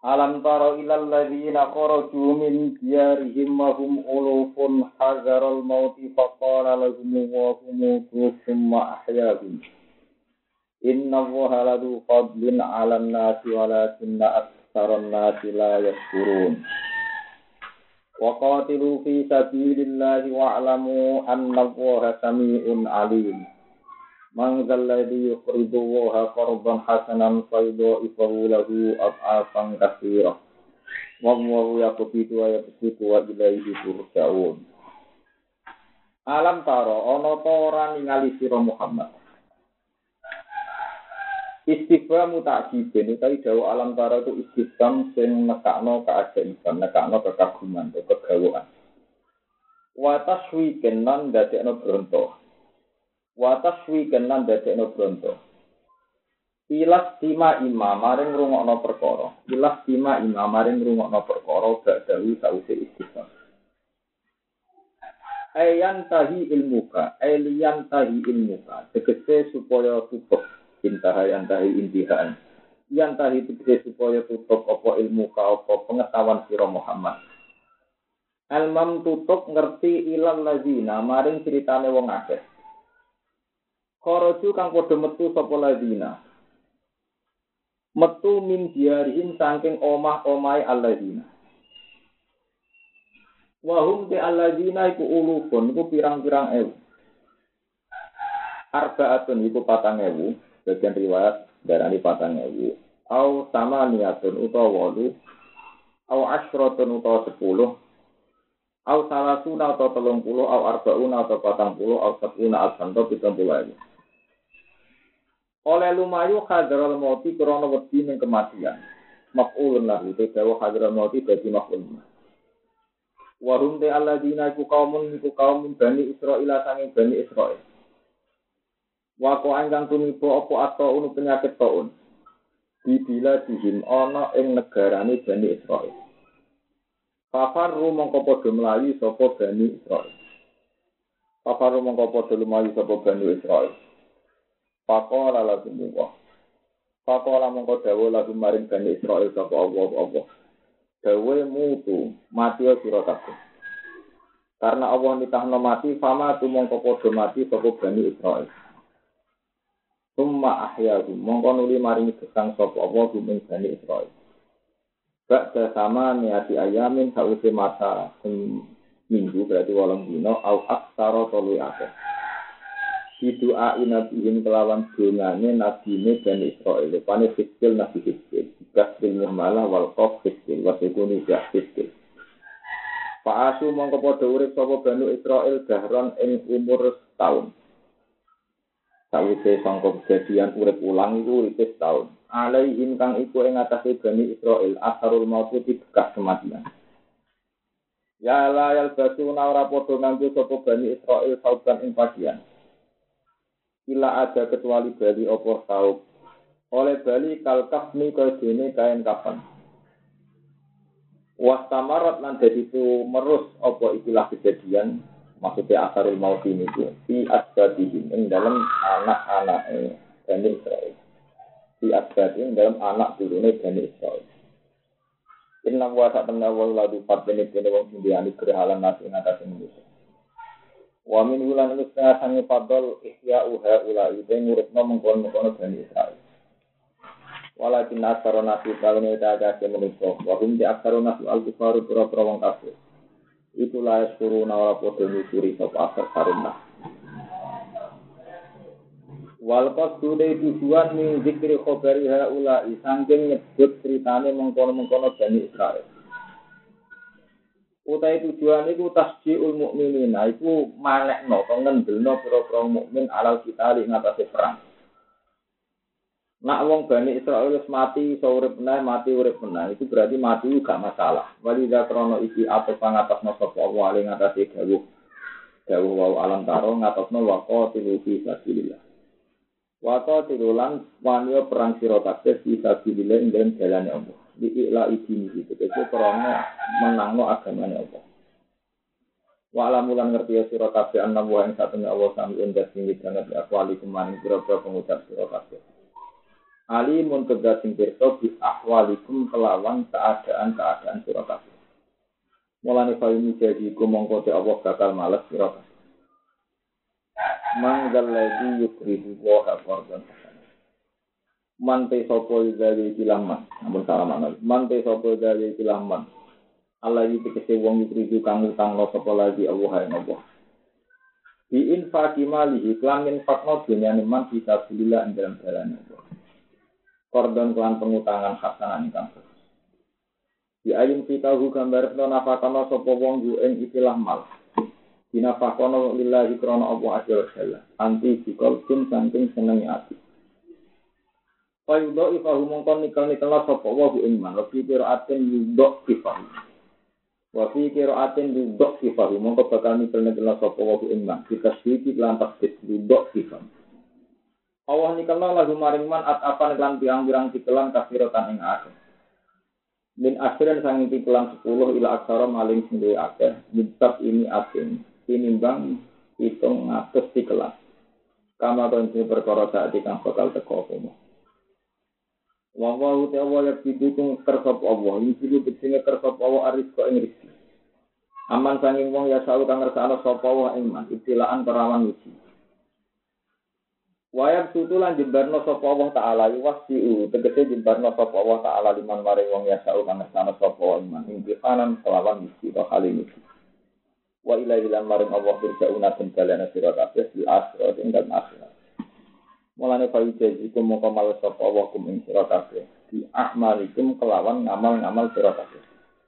Alam tara ilal ladzina kharaju min diyarihim wa hum ulufun hadzarul mauti faqala lahum wa hum thumma ahyahum. Inna Allaha ladu fadlin 'alan nasi walakinna aktsaran nasi la yashkurun. Wa qatilu fi sabilillahi wa'lamu anna Allaha samii'un 'aliim. Man zalladhi yuqridu Allaha qardan hasanan fayudha'ifahu lahu ad'afan katsirah. Wallahu yaqbidu wa yabsutu wa ilaihi turja'un. Alam taro ana ta ora ningali sira Muhammad. Istifham ta'jibin utawi dawuh alam taro itu istifham sing nekakno keajaiban, nekakno kekaguman, kegawaan. Wa taswiken lan dadekno bronto. Ilas tima imam maring ngrungokno perkara. Ba'dawi sause istifham. Ayan tahi ilmuka. Tegese supaya tutup. Intahan. Yang tahi tegese supaya tutup apa ilmuka apa pengetahuan sira Muhammad. Almam tutup ngerti ilal lazina maring ceritane wong akeh. Kharaju kang padha metu sapa lazina. Metu min diarihim saking omah-omahe alladzina. Wa hum te alladzina iku ulufun iku pirang-pirang ewu. Arba'atun iku 4.000, bagian riwayat darani 4.000. Au sama niatun utawa 8, au asyratun utawa 10, au salasuna utawa 30, au arba'una utawa 40, au sab'una al-santo 70.000. Oleh lumayu hadral mauti krana wedi ning kematian. Maf'ulun lahu te dawa hadral mauti dadi maf'ul. Wa hum te alladzina iku kaum Bani Israil sange Bani Israil. Wa ko angkang tumiba apa ataun penyakit taun. Dibila dihim ana ing negarane Bani Israil. Fafaru mongko padha mlayu sapa Bani Israil. Faqala mongko dawuh lagu maring Bani Israil sapa Allah. Dawe mutu mati sira kabeh. Karena Allah nitahno mati fama tu mongko padha mati sapa Bani Israil. Summa ahyahu mongko nuli maring gesang sapa Allah ing Bani Israil. Ba'da sama niati ayamin sawise masa minggu berarti 8 dina au aksara tolu akeh. Doa inabihim kelawan dongane nabine Bani Israil. Pane fikil nabi fikil. Kasbil muhmalah wal qaf fikil. Wasikuni jak fikil. Fa'asu mongko padha urip sapa Bani Israil dahron ing umur setahun. Sawise sangka kejadian urip ulang iku urip setahun. Alaihim kang iku ing atase Bani Israil asharul maut bekas kematian. Ya la yal basuna ora padha nganggo sapa Bani Israil sauban ing pakaian. Ila ada kecuali bali opo saub. Oleh bali kalkafni kodene kain kapan. Wastamarat lan dadi itu merus opo ikilah kejadian. Maksudnya asarul maut ini itu. Fi asbadihim ing dalam anak-anak Bani Israil. Fi asbadihim dalam anak turune Bani Israil. Inna wa ta'ala wa ladu fatbeni kene wong sindiani kerehalan nasi ngatasi manusia. Wa min ulan usta sange fadl ihya uha ulai den ngurupno mengkon-mengkon Bani Israil. Walakin asarona fi kalene daga ke manusia wa hum di asarona fi al-kufaru pura-pura wong kafir. Itulah suruh ora padha nyusuri sapa asar karuna. Wal qasdune tujuan min zikri khabari haula sangking nyebut critane mengkon-mengkon Bani Israil. Utai tujuan iku tasjiul mukminin, iku manekno to ngendelno pira-pira mukmin alal kita ing atase perang. Nak wong Bani Israil wis mati, iso urip meneh, mati urip meneh, itu berarti mati gak masalah. Walidha krono iki apa pangatasno sapa Allah ing atase dawuh wa alam taro ngatasno waqatilu fi sabilillah. Waqatilu lan wanyo perang sira kabeh fi sabilillah ing dalem dalane Allah. Di ikla idini itu karena menangno agamanya Allah. Wa alamulan ngerti ya sira kabeh ana wa ing satune Allah sami endah sing banget akwali kemaning pira-pira pengucap sira kabeh. alimun kedah sing pirsa bi ahwalikum kelawan keadaan-keadaan sira kabeh. Mulane fa'ini jadi ku mongko te Allah bakal males sira kabeh. Manggal lagi yukridu wa qardan. Mante sapa dari kilaman, ampun salaman. Mante sapa dari kilaman. Allah iki tegese wong yukridu kang utang sapa lagi Allah ing Allah. Di infaqi malihi kelamin fakno dunyane man bisa bilillah ing dalam jalan Allah. Kordon kelan pengutangan hasanan ingkang bagus. Di ayun fitahu gambar nafakono sapa wong yu ing istilah mal. Dinafakono lillahi krana Allah azza wa jalla. Anti biqalbin saking senenge ati. Fayudo ifahu mongkon nikel-nikel sapa wa ing man. Fi qiraatin yudok ifahu. Wa fi qiraatin yudok ifahu mongko bakal nikel-nikel sapa wa ing man. Kita sedikit lan tasdid yudok ifahu. Allah nikelna lagu maring man at-afan lan pirang-pirang tikelan kafirotan ing akeh. Min asren sanging tikelan 10 ila aksara maling sing duwe akeh. Mitab ini ating tinimbang 700 tikelan. Kama konci perkara saat kang bakal teko apa. Wa te Allah yak didukung kersop Allah. Iki becine kersop Allah aris kok ing rezeki. Aman sanging wong ya salu kang ngersakno sapa wa ing man ibtilaan perawan uji. Wayab tutulan jembarno sapa Allah taala yuwasiu tegese jembarno sapa Allah taala liman maring wong ya salu kang ngersakno sapa iman impianan kelawan misi wa kali misi. Wa ilahi lan maring Allah firjauna den balana sira kabeh di akhirat ing dalem akhirat. Mulane fa'ijazikum moko mal sapa Allah kum ing sira kabeh di ahmalikum kelawan ngamal-ngamal sira kabeh.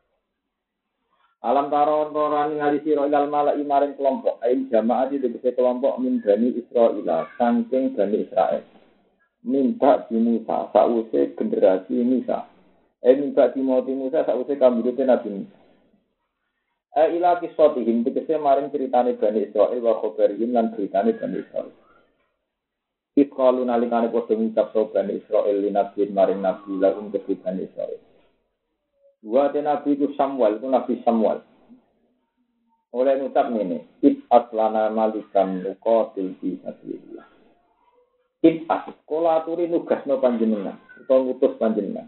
Alam taron torani ngali sira ilal malai maring kelompok ain jamaah di tegese kelompok min Bani Israil saking Bani Israil. Minta di Musa sause generasi Musa. Minta di Musa sause kambirute Nabi Musa. Ila kisotihim tegese maring ceritane Bani Israil wa khobarihim lan ceritane Bani Israil. Iqalu nalikane padha ngucap sapa Bani Israil li nabi maring nabi lakum kedhi Bani Israil. Wa nabi itu Samuel, itu Nabi Samuel. Oleh ngucap ngene, Ib'at lana malikan nuqatil fi sabilillah. Ib'at kula aturi nugasno panjenengan, utawa ngutus panjenengan.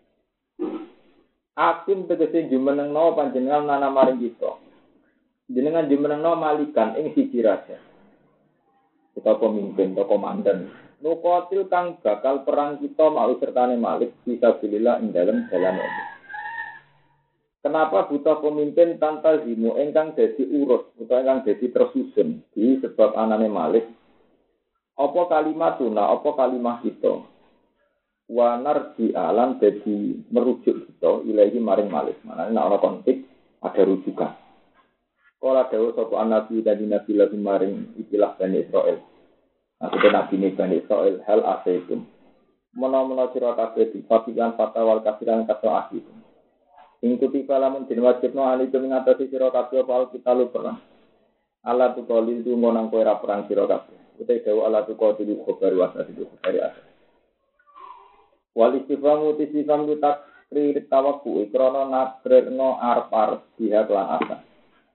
Akim tegese jumenengno panjenengan nana maring kita. Jenengan jumenengno malikan ing siji raja. Kita pemimpin atau komandan. Nuqatil kang bakal perang kita mau sertane malik fi sabilillah ing dalem jalan Allah. Kenapa butuh pemimpin tanpa zimu engkang jadi urus atau engkang jadi tersusun di sebab anane Malik? Apa kalimatuna, apa kalimah kita? Wanar di alam jadi merujuk kita ilahi maring Malik. Mana ini ana konflik ada rujukan. Kala dawuh sapa nabi dan nabi lagu maring ikilah Bani Israil. Nah, nabi Bani Israil hal asaitum. Menawa sira kabeh dipapikan fatwal kafiran kaso akhir. Ingkuti kalamun den wajibno alikum ngatasi sira kabeh apa kita lu perang. Allah tu qalil tu ngonang kowe ra perang sira kabeh. Utai dawuh Allah tu qalil khobar wasa itu dari atas. Wal istifamu tisifam tu takrir tawakku krana nabreno arpar pihak lan asa.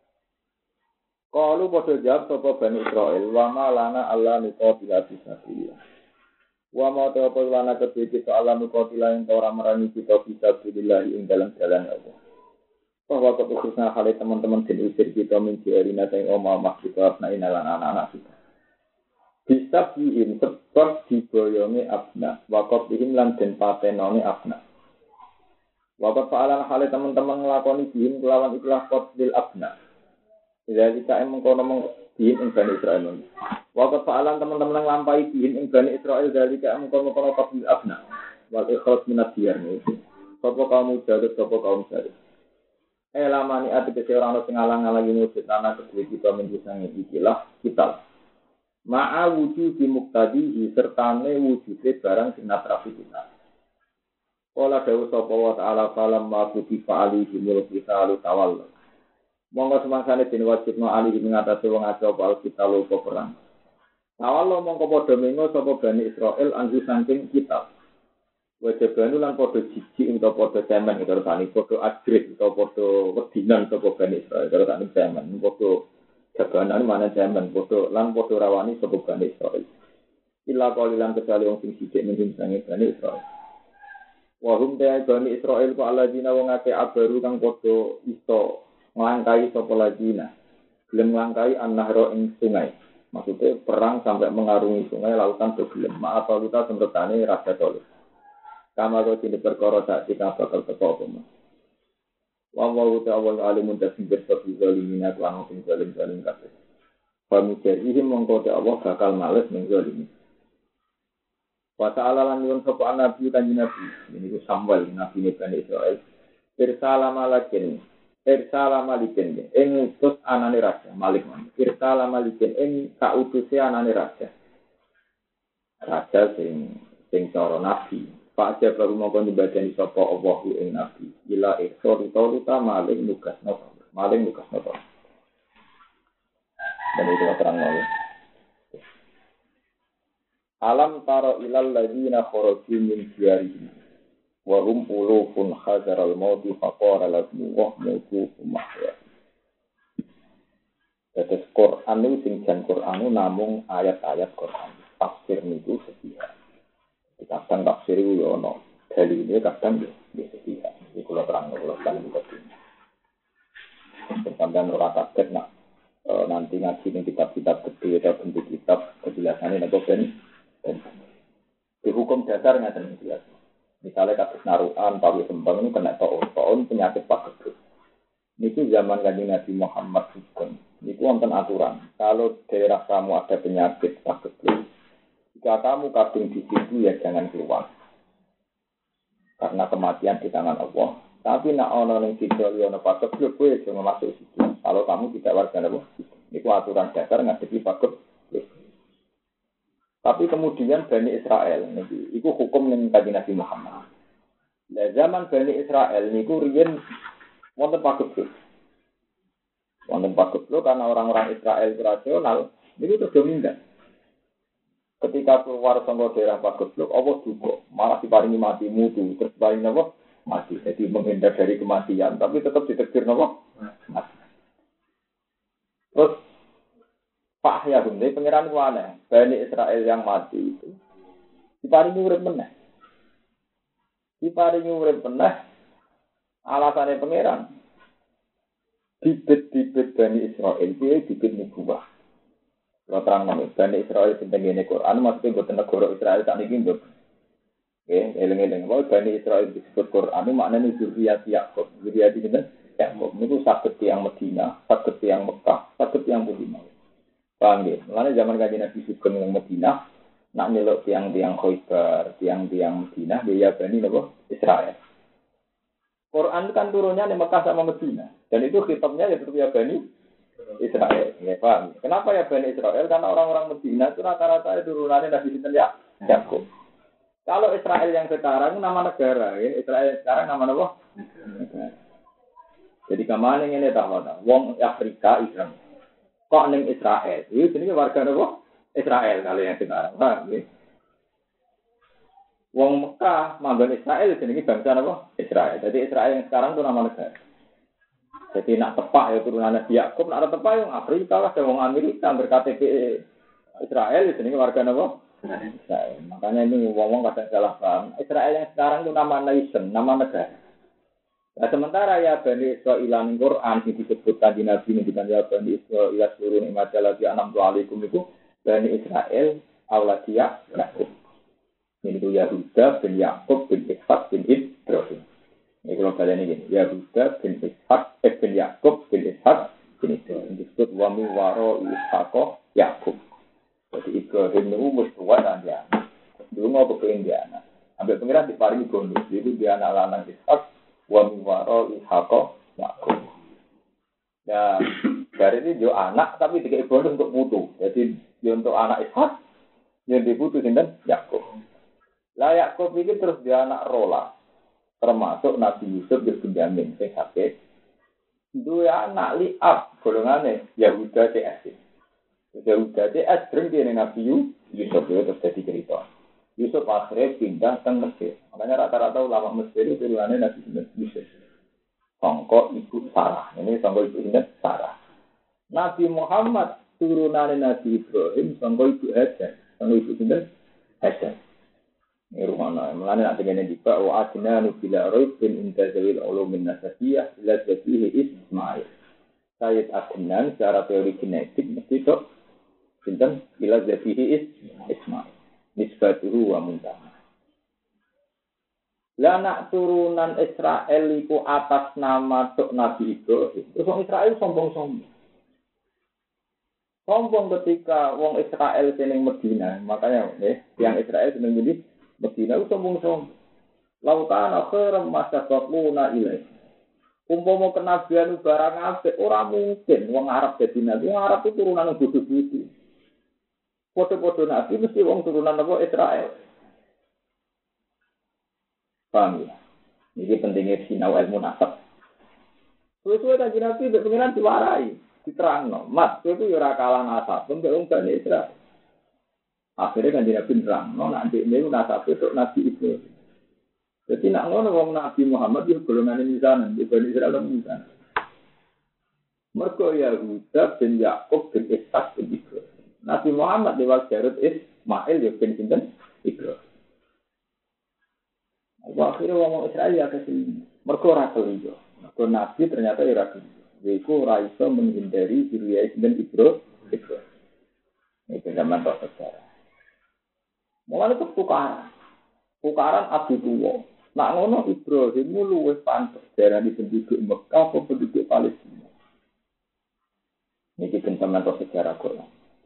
Qalu padha jawab sapa Bani Israil wa ma lana Allah nuqatila fisabilillah. Wa ma ta'ala kedhe kita Allah nuqatila ing ora merangi kita fisabilillah ing dalam jalan Allah. Bahwa khususnya hal teman-teman den usir kita menjadi sing omah kita abna inalan anak-anak kita. Bisa bihim sebab diboyongi abna, wakot bihim lan den patenone abna. Wakot fa'alan hal teman-teman nglakoni bihim kelawan ikhlas qatlil abna. Jadi kita mengkono bihim ing Bani Israil. Wakot fa'alan teman-teman nglampahi bihim ing Bani Israil dari kita mengkono qatlil abna. Wal ikhlas minad diyar niku. Sapa kaum jagat sapa kaum jagat. Lamani ati kese orang sing ngalang-alangi wujud tanah kedhe kita menjusangi ikilah kita. Ma'a wujud di muktadihi sertane wujude barang sing natrafi kita. Kala dawuh sapa wa ta'ala falam ma kutifa alihi mulki ta'alu tawall. Monggo semangsane den wajibno alihi ngatasi wong aja apa kita lupa perang. Tawall mongko padha mengo sapa Bani Israil anggo saking kita. Wajibane lan padha jijik utawa padha cemen karo tani padha agres utawa padha wedinan sapa Bani Israil karo tani cemen padha jaganan mana cemen padha lan padha rawani sapa Bani Israil. Illa qalilan kecuali wong sing sithik ning sange Bani Israil. Wa hum ta Bani Israil ku alladzina wong akeh abaru kang padha iso nglangkai sapa ladina. Gelem nglangkai an-nahra ing sungai. Maksudnya perang sampai mengarungi sungai lautan bergelem. Maaf kita semretane raja toleh. Kama kau tidak perkara tak kita bakal teko apa. Wallahu ta'ala alimun tasbih sabi zalimina lan sing zalim kabeh. Pamujahihim mongko Allah bakal males ning zalim. Wa ta'ala lan nyuwun sapa nabi kanjeng nabi. Ini ku Samuel nabi Bani Israil. Irsala malikin ing utus anane raja Malik. Irsala malikin ing kautuse anane raja. Raja sing cara nabi. Pak Jabar mongko nyembadani sapa Allah ing nabi. Ila eksorita maling nugas napa. Dan itu terang ya. Alam taro ilal ladzina kharaju min diyarihim wa hum ulufun hazaral mauti faqara lahum wa mutu mahya. Tetes Quran itu sing jan Quran namung ayat-ayat Quran. Tafsir niku sepihak. Kadang tafsir itu ya ono dalile kadang ya sepihak. Iki kula terang iki. Sampeyan ora kaget nak nanti ngaji ning kitab-kitab gede atau bentuk kitab kejelasannya nek ben di hukum dasar ngaten jelas. Misalnya kasus naruhan, pawi sembang ini kena toon penyakit pagebluk. Niki zaman Kanjeng Nabi Muhammad hukum. Niku wonten aturan. Kalau daerah kamu ada penyakit pagebluk, jika kamu kadung di situ ya jangan keluar. Karena kematian di tangan Allah. Tapi nak ono ning kidul yo ono pagebluk kowe jangan masuk situ. Kalau kamu tidak warga Allah. Niku aturan dasar ngadepi pagebluk. Tapi kemudian Bani Israel itu hukum yang Kanjeng Nabi Muhammad. Nah, zaman Bani Israel niku riyen wonten pagebluk. Wonten pagebluk karena orang-orang Israel rasional niku terdominan. Ketika keluar saka daerah pagebluk, Allah duka, malah diparingi mati mutu, terus paring napa? Mati. Jadi menghindar dari kematian, tapi tetap ditegir napa? Mati. Terus Pak Yahum, ini pengiran wane, Bani Israel yang mati itu diparingi urip meneh. Diparingi urip meneh, alasannya pengiran bibit-bibit Bani Israel itu bibit nubuwah. Kalau terang nama, Bani Israel tentang ini Quran, maksudnya buat negara Israel tak niki nggak. Eleng-eleng, kalau Bani Israel disebut Quran, maknanya zuriyat Yakub, zuriyat ini Yakub itu sakit yang Medina, sakit yang Mekah, sakit yang Madinah. Paham ya? Mulanya zaman Kanjeng Nabi Sugeng yang Madinah, nak nyeluk tiang-tiang Khaybar, tiang-tiang Madinah, dia Bani Israel. Quran itu kan turunnya di Mekah sama Madinah, dan itu khitabnya ya tetap ya Bani Israel. Ya paham? Kenapa ya Bani Israel? Karena orang-orang Madinah itu rata-rata turunannya Nabi Sinten ya Yakub. Kalau Israel yang sekarang nama negara, ya Israel yang sekarang nama apa? Negara. Jadi kemana ini tahu? Wong Afrika Islam. Kok neng Israel? Itu jenenge warga apa? Israel kali yang sekarang. Paham ya? Wong Mekah manggon Israel jenenge bangsa apa? Israel. Jadi Israel yang sekarang itu nama negara. Jadi nak tepak ya turunan Nabi Yakub, nak tepak yang Afrika lah, wong Amerika berKTP Israel jenenge warga apa? Israel. Makanya ini wong-wong kadang salah paham. Israel yang sekarang itu nama nation, nama negara. Nah, sementara ya Bani Israil ing Quran disebutkan di Nabi ngendikan ya Bani Israil seluruh nikmat lagi an'amtu alaikum itu Bani Israil auladia Yakub. Ini itu Yahuda bin Yakub bin Ishak bin Ibrahim. Ini kalau kalian ini Yahuda bin Ishak bin Yakub bin Ishak bin Ibrahim disebut wa min waro Ishaq Yakub. Jadi Ibrahim itu mesti tua dan dia. Dulu mau kepengen dia anak. Sampai pengiran diparingi bonus. Jadi dia anak lanang Ishak wa miwaro Ishaq Yakub. Ya, dari ini dia anak tapi tiga bonus untuk putu. Jadi dia untuk anak Ishak yang diputu sinten Yakub. Lah Yakub ini terus dia anak rola. Termasuk Nabi Yusuf bin Benyamin sing sakit. Dua anak liab golongane Yahuda CS. Yahuda CS sering dia Nabi Yusuf itu terus jadi cerita. Yusuf akhirnya pindah ke Mesir. Makanya rata-rata ulama Mesir itu turunannya Nabi Yusuf. Sangko ibu Sarah. Ini sangko ibu Sarah. Nabi Muhammad turunannya Nabi Ibrahim. Sangko ibu Hajar. Sangko ibu Hasan. Ini rumahnya. Mulanya nak dengan juga wa adina nubila roib bin intazawil ulumin nasabiyah ila zabihi Ismail. Sayyid Adnan secara teori genetik mesti itu sinten ila zabihi Ismail. Nisbatuhu wa muntah. Lah nak turunan Israel iku atas nama tok Nabi Ibrahim. Terus wong Israel sombong-sombong. Sombong ketika wong Israel seneng Medina, makanya yang Israel seneng Medina itu sombong-sombong. Lautan akhiram masabaquna ilaih. Umpama kenabian barang apik ora mungkin wong Arab dadi nabi. Wong Arab itu turunan bodho-bodho. Foto-foto nabi mesti wong turunan apa Israel. Paham ya? Ini pentingnya sinau ilmu nasab. Sesuai kaji Nabi, pengiran diwarai, diterang. Mas, itu ya kalah nasab, untuk Bani Israel. Akhirnya kaji Nabi terang, nanti ini nasab itu Nabi itu. Jadi nak ngono wong Nabi Muhammad itu golongan ini sana, di Bani Israel itu sana. Mergo Yahuda bin Yakub bin Ishak bin Ibrahim. Nabi Muhammad lewat Jarud Ismail ya bin Sinten Ibrahim. Akhirnya ngomong Israel ya kesini. Mereka ora keliru. Mereka Nabi ternyata ora keliru. Yaitu ora iso menghindari Zuriyah dan Ibrahim. Ini zaman tok sejarah. Mulai itu tukaran adu tuwa. Nak ngono Ibrahim luwih pantes darani penduduk Mekah apa penduduk Palestina. Ini zaman tok sejarah kok.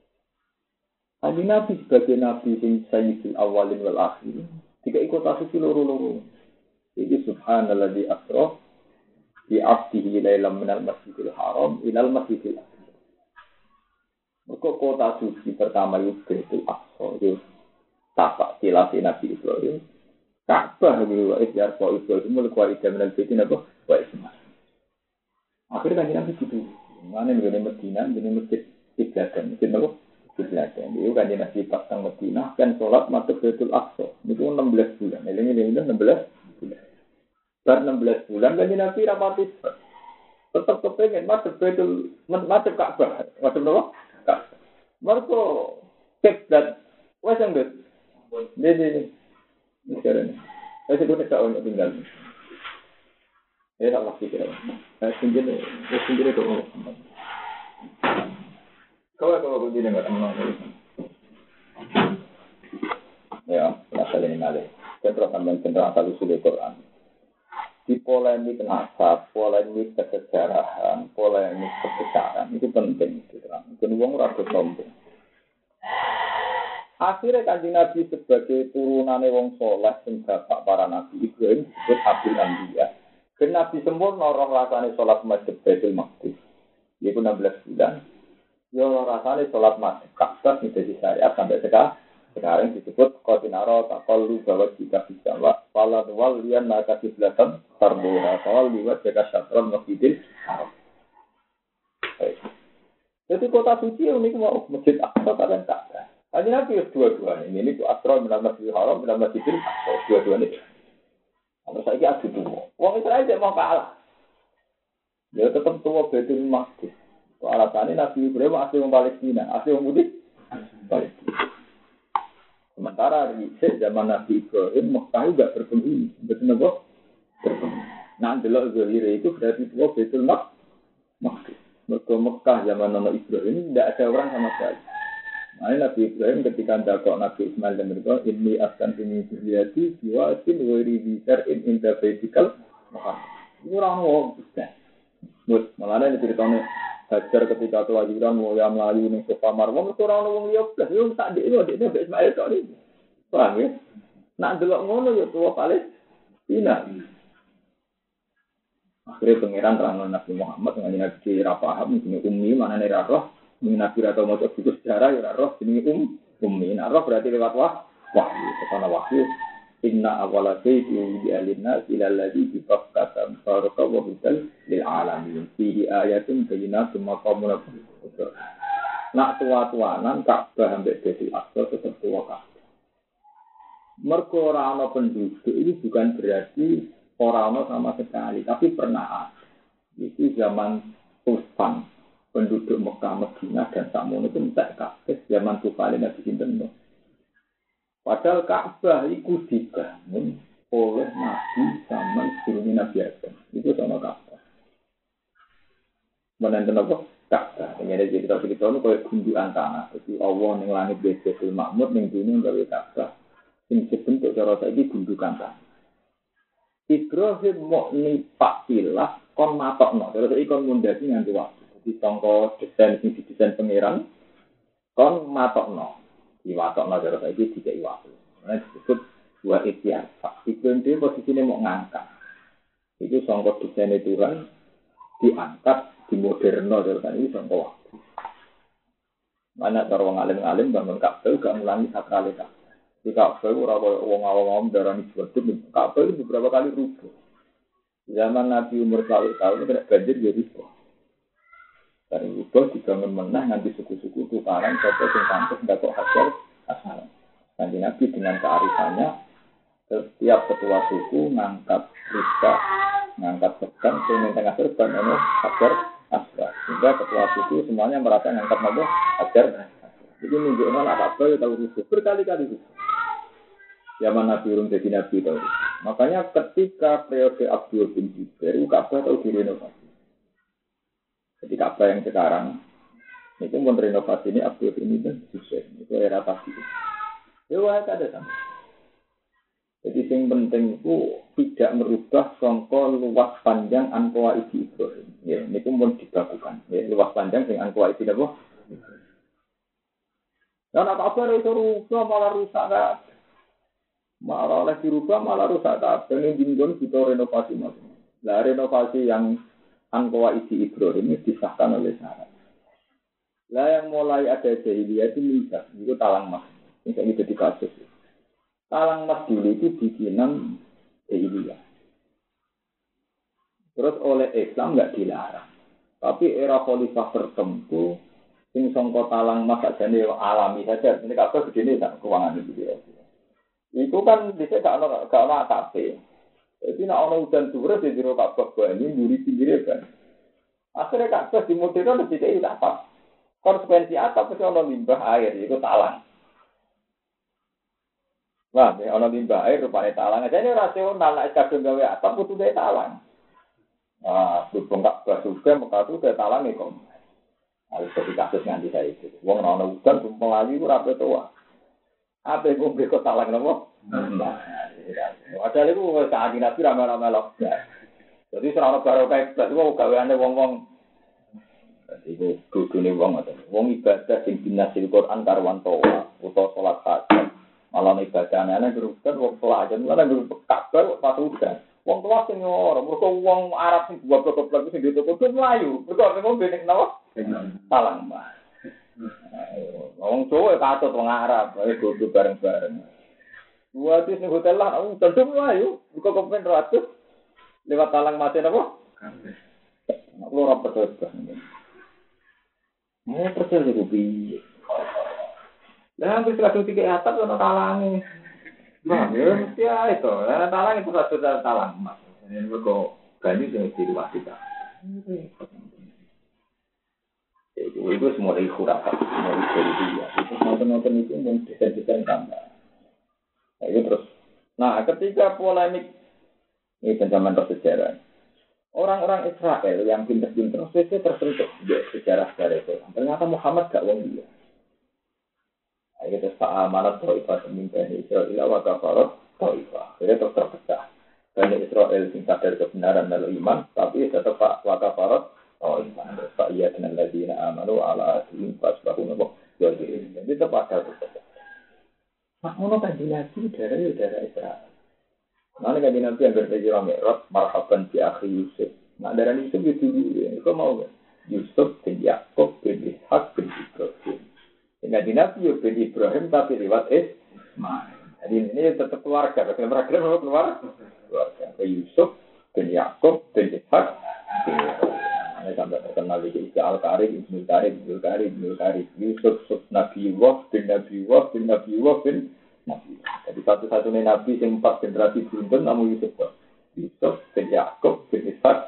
Nabi sebagai Nabi sing sayyidul awalin wal akhirin. Jika ikut asisi loro-loro. Jadi subhanalladzi asra bi 'abdihi lailan minal masjidil haram ilal masjidil aqsa. Maka kota suci pertama itu Baitul Aqsa. Itu tapak tilasi Nabi Ibrahim. Ka'bah itu ikhtiar Pak Ibrahim mulai kualitas minal baitin apa? Wa isma. Akhirnya kan Nabi gitu. Mana nih Medina, ini masjid ibadah, masjid apa? Belakang. Itu kan Nabi pasang Madinah kan sholat masuk Baitul Aqsa. Itu 16 bulan. Ini 16 bulan. Bar 16 bulan kan Nabi rapati tetap kepengen masuk Baitul masuk Ka'bah. Masuk apa? Ka'bah. Mergo kiblat wes enggak. Ini sekarang. Saya sudah tak orang tinggal. Tak pasti kira. Saya sendiri tu. Kalau begini enggak tenang. Ya, asal ini nale. Central asal usul Quran. Di polemik nasab, polemik kesejarahan, polemik kebesaran itu penting. Dan uang rakyat sombong. Akhirnya Kanjeng Nabi sebagai turunane wong saleh sing bapak para nabi Ibrahim disebut Abdul Anbiya. Dan Nabi sempurna roh rasane salat masjid Baitul Maqdis. Yaitu 16 bulan. Ya rasane salat masjid Ka'bah menjadi syariat sampai sekarang disebut qatinaro taqallu bahwa jika bisa wala wal lian maka kiblatan tarbuha wal liwat jaka syatron masjidil haram. Jadi kota suci unik mau masjid Aqsa dan Ka'bah. Hanya Nabi dua-duanya ini itu Asra minal masjidil haram minal masjidil Aqsa dua-duanya. Kalau saya adu tuh, wong Israel tidak mau kalah. Dia tetap tua Baitul Maqdis. Alasannya Nabi Ibrahim asli orang Palestina, asli orang Buddhis, Palestina. Sementara di zaman Nabi Ibrahim, Mekah juga berpenghuni, betul nggak? Berpenghuni. Nah, delok Zohir itu berarti tua Baitul Maqdis. Mekah zaman Nabi Ibrahim tidak ada orang sama sekali. Nah, Nabi Ibrahim ketika dakok Nabi Ismail dan mereka, ini akan ini terjadi, siwasin wiri bisar in interpretikal Mekah. Ini orang mau bisa. Malah ada ceritanya. Hajar ketika kelahiran mulai melayu ning sofa marwah itu ora ono wong liya blas yo sak ndek ndek Ismail tok iki. Paham ya? Nak delok ngono yo tuwa Palestina. Akhirnya pangeran terang Nabi Muhammad dengan Nabi ra paham ini ummi manane ra roh, Nabi ra tau maca buku sejarah ya ra roh jenenge ummi. Nah roh berarti lewat wahyu, karena wahyu inna awwala shay'in bi'alinna ila alladhi bi Bakkah baraka wa hudal lil alamin fi ayatin bayyinatin maqamun nak tua-tuanan Ka'bah ambek Baitul Aqsa tetep tua kabeh. Mergo ora ana penduduk ini bukan berarti ora ana sama sekali, tapi pernah ada. Itu zaman Tufan penduduk Mekah, Madinah dan Samono itu entek kabeh zaman Tufan Nabi sinten. Padahal Ka'bah iku dibangun oleh Nabi zaman sebelum Nabi Adam. Itu sama Ka'bah. Menenten apa? Ka'bah. Ini ada cerita-cerita itu kayak gundukan tanah. Jadi Allah yang langit Baitul Ma'mur, yang dunia gawe Ka'bah. Ini sebentuk cara saiki gundukan tanah. Ibrahim mau nipak ilah kon matokno. Terus iki kon mundhasi nganggo waktu. Jadi sangka desain sing didesain pangeran kon matokno. Di matokno cara saiki dikai waktu. Nah disebut dua ikhtiar. Ibrahim dia posisinya mau ngangkat. Itu sangka desain Tuhan diangkat di moderno terus ini sangka waktu. Mana cara wong alim-alim bangun Ka'bah gak ngulangi sakrale Ka'bah. Di Ka'bah ora koyo wong awam darani sebetulnya Ka'bah itu beberapa kali rubuh. Zaman Nabi umur 100 tahun kena banjir jadi rubuh. Dari rubuh dibangun menah nganti suku-suku tukaran sapa sing pantes ndak kok hajar asal. Kanjeng Nabi dengan kearifannya setiap ketua suku ngangkat rika, ngangkat pedang sing tengah serban ono hajar asal. Sehingga ketua suku semuanya merasa ngangkat nopo hajar. Jadi menunjukkan apa-apa ya tahu rubuh berkali-kali rubuh. Zaman Nabi Urung jadi Nabi tahu. Makanya ketika periode Abdul bin Zubair, Ka'bah tahu direnovasi. Jadi Ka'bah yang sekarang itu pun renovasi ini Abdul bin Zubair. Itu era Tabi'in. Ya wah ada sama. Jadi yang penting itu tidak merubah songkol luas panjang Anqawa Idi Ibrahim. Ya, ini pun dibakukan. Ya, luas panjang yang Anqawa Idi apa? Dan apa-apa itu rubah malah rusak kan? Malah oleh dirubah malah rusak kabeh ning dinggon kita renovasi macam. Lah renovasi yang Anqawa Idi Ibrahim ini disahkan oleh syarat. Lah yang mulai ada jahiliyah itu mizah, itu talang mas. Ini jadi kasus. Talang mas dulu itu bikinan jahiliyah. Terus oleh Islam enggak dilarang. Tapi era khalifah tertentu sing sangka talang mas sajane alami saja. Ini kabeh begini tak keuangan itu ya. Itu kan bisa gak ono atap. Jadi nak ono hujan turun di jero Ka'bah ini duri pinggir kan. Akhirnya Ka'bah di modern lebih dari atap. Konsekuensi atap itu ono limbah air itu talang. Wah, ono limbah air rupanya talang. Jadi rasional nek kadung gawe atap kudu gawe talang. Nah, berhubung Ka'bah juga maka itu gawe talang iku. Harus jadi kasus nganti saya itu. Wong ono hujan melayu ora petua. Apa yang ngombe kok talang nopo? Padahal itu saat Nabi ramai-ramai loh. Jadi serana baru kayak itu gaweane wong-wong. Jadi itu dudune wong atau wong ibadah sing dinasil Quran karwan toa utawa salat hajat. Malah ibadahane ana gerukan wong pelajar malah geruk kabeh pas udan. Wong tua sing ora mergo wong Arab sing goblok-goblok sing ditutup mlayu. Mergo ngombe nek napa? Talang mah. Wong Jawa katut wong Arab, ae kudu bareng-bareng. Buat di hotel lah, tentu melayu, buka kepen ratus, lewat talang mati apa? Lu ora percaya. Mau percaya di kopi. Lah hampir 103 atap ono talange. Nah, ya mesti itu. Lah talang itu satu talang mas. Ini mergo ganti sing diwasikan. Itu semua dari khurafat, semua dari dia. Itu nonton-nonton itu yang desain-desain tambah. Nah, itu terus. Nah, ketika polemik ini zaman bersejarah, orang-orang Israel yang pinter-pinter sesuai tersentuh di sejarah-sejarah itu. Ternyata Muhammad gak wong dia. Nah, itu terus amanat Taifah pemimpin Israel wa kafarat Taifah. Jadi terus terpecah. Banyak Israel yang sadar kebenaran dan iman, tapi tetap wa kafarat Taifah. Pak iya dengan ladina amanu ala adhim fasbahu nabok. Jadi tetap ada itu. Mak ngono kan dinasti darah Israel. Mana kan dinasti yang berpikir Mi'raj marhaban bi akhi Yusuf. Nak darah Yusuf itu dulu. Itu mau kan? Yusuf bin Yakub bin Ishak bin Ibrahim. Dengan dinasti bin Ibrahim tapi lewat Ismail. Jadi ini tetap keluarga. Keluarga keluarga. Yusuf bin Yakub bin Ishak bin Ibrahim. Ini sampai terkenal di Isa Al-Karib, Ibnu Karib, Yusuf Nabi Wah bin Nabi Wah bin Nabi Wah bin Nabi. Jadi satu-satunya Nabi yang 4 generasi beruntun namun Yusuf bin Yakub bin Ishak.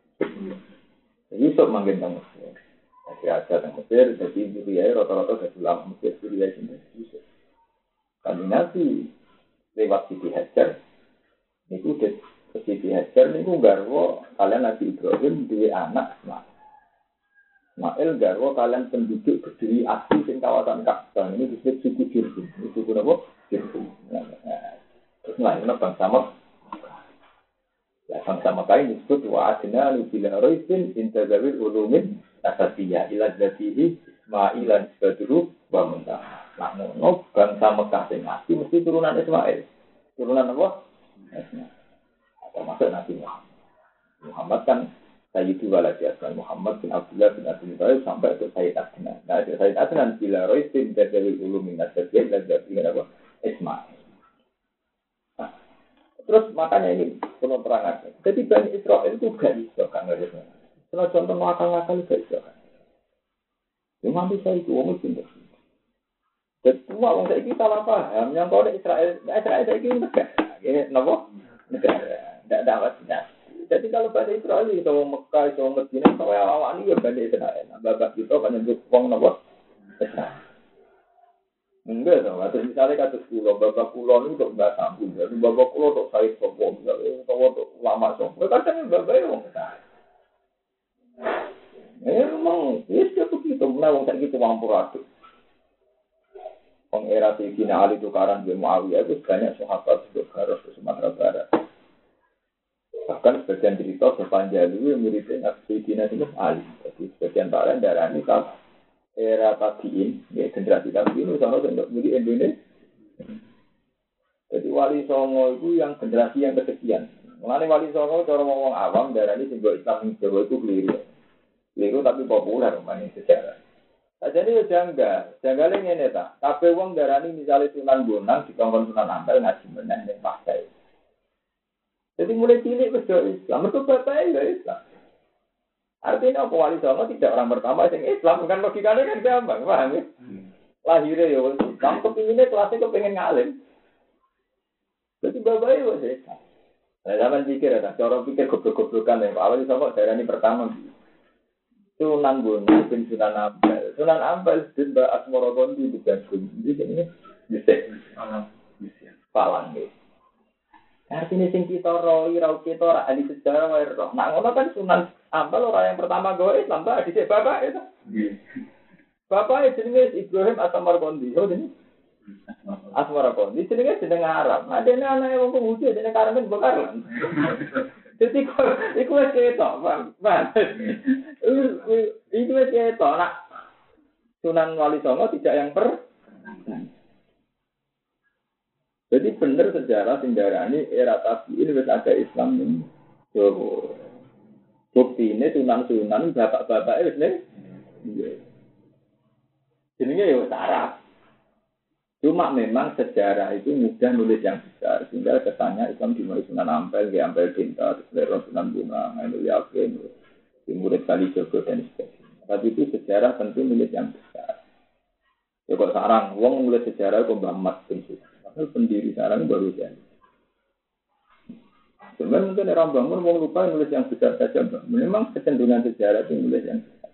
Yusuf manggil tentang Mesir. Masih ada tentang Mesir, jadi Suriah rata-rata dari ulama Mesir Suriah sini Yusuf. Kanjeng Nabi lewat Siti Hajar niku Siti Hajar niku garwa kalian Nabi Ibrahim duwe anak Ismail garwa kalian penduduk berdiri asli sing kawasan Ka'bah ini disebut suku Jurhum. Suku napa? Jurhum. Terus lainnya bangsa Mekah. Ya bangsa Mekah ini disebut wa adna bila raisin intazawil ulumin asasiyah ila dzatihi Ismailan badru wa muntah. Nah, ngono bangsa Mekah sing asli mesti turunan Ismail. Turunan apa? Ismail. Termasuk Nabi Muhammad. Muhammad kan Sayyidu waladi Asman Muhammad bin Abdullah bin Abdul Muttalib sampai ke Sayyid Adnan. Nah, Sayyid Adnan bila roisin dari ulumin nasabiyah dan dari apa? Ismail. Nah, terus makanya ini penuh terangan. Jadi Bani Israel itu gak bisa kan nggak ada. Kalau contoh ngakal-ngakal gak bisa kan. Cuma bisa itu orang pintar. Dan semua orang saya ini salah paham. Yang kau Israel saya ini negara. Ini apa? Negara. Tidak dapat tidak. Jadi kalau Bani Israel itu orang Mekah, itu orang Medina, kalau awal ini ya Bani Israel. Bapak kita kan yang uang apa? Israel. Enggak dong. Atau misalnya kata pulau, bapak pulau ini untuk nggak sambung. Jadi bapak pulau untuk saya sopong, misalnya untuk lama sopong. Kadang bapak itu orang Israel. Memang, ya sudah begitu. Menawang saya gitu mampu ratu. Era Sayyidina Ali tukaran dengan Muawiyah itu banyak sahabat untuk Garut ke Sumatera Barat. Bahkan sebagian cerita sepanjang itu muridnya Sayyidina Ali. Jadi sebagian lain darah ini kan era tabiin, ya generasi tabiin itu sama untuk murid Indonesia. Jadi Wali Songo itu yang generasi yang kesekian. Mengenai Wali Songo cara ngomong awam darah ini simbol Islam Jawa itu keliru. Keliru tapi populer mengenai sejarah. Jadi ya janggal ini tak. Tapi uang darah ini misalnya Sunan Bonang dikongkon Sunan Ampel ngaji menang yang pakai. Jadi mulai cilik berdoa Islam, itu bapaknya ya Islam. Artinya apa Wali Songo tidak orang pertama yang Islam, bukan logikanya kan gampang, paham ya? Lahirnya ya Islam, kepinginnya kelasnya kepengen ngalim. Jadi bapaknya ya Islam. Nah, zaman pikir ya, cara pikir goblok-goblokan ya, Wali Songo darah ini pertama. Sunan Bonang bin Sunan Ampel. Sunan Ampel bin Mbak Asmorogondi di Bandung. Jadi ini bisa palang ya. Artinya sing kita roi rau kita ora ahli sejarah wae roh. Nah ngono kan Sunan Ampel orang yang pertama gawe Islam Pak dhisik bapak itu. Bapak jenenge Ibrahim Asmorogondi. Oh jenenge Asmorogondi jenenge Arab. Nah dene anake wong Yahudi dene Karmen Bokar. Jadi iku wis ketok, Pak. Iku wis ketok nak Sunan Wali Songo tidak yang Jadi benar sejarah Sindarani era tabiin wis ada Islam ini. Yo. Bukti ini Sunan bapak-bapak wis nih. Iya. Jenenge yo Arab. Cuma memang sejarah itu mudah nulis yang besar. Sehingga kesannya Islam dimulai Sunan Ampel, Ampel Cinta, terus Sunan Bunga, Ainul Yakin, murid Kali Jogo dan sebagainya. Tapi itu sejarah tentu nulis yang besar. Ya kok sekarang, wong nulis sejarah itu Mbah Mat bin Sultan. Pendiri sekarang baru jadi. Sebenarnya mungkin orang bangun wong lupa nulis yang besar saja. Memang kecenderungan sejarah itu nulis yang besar.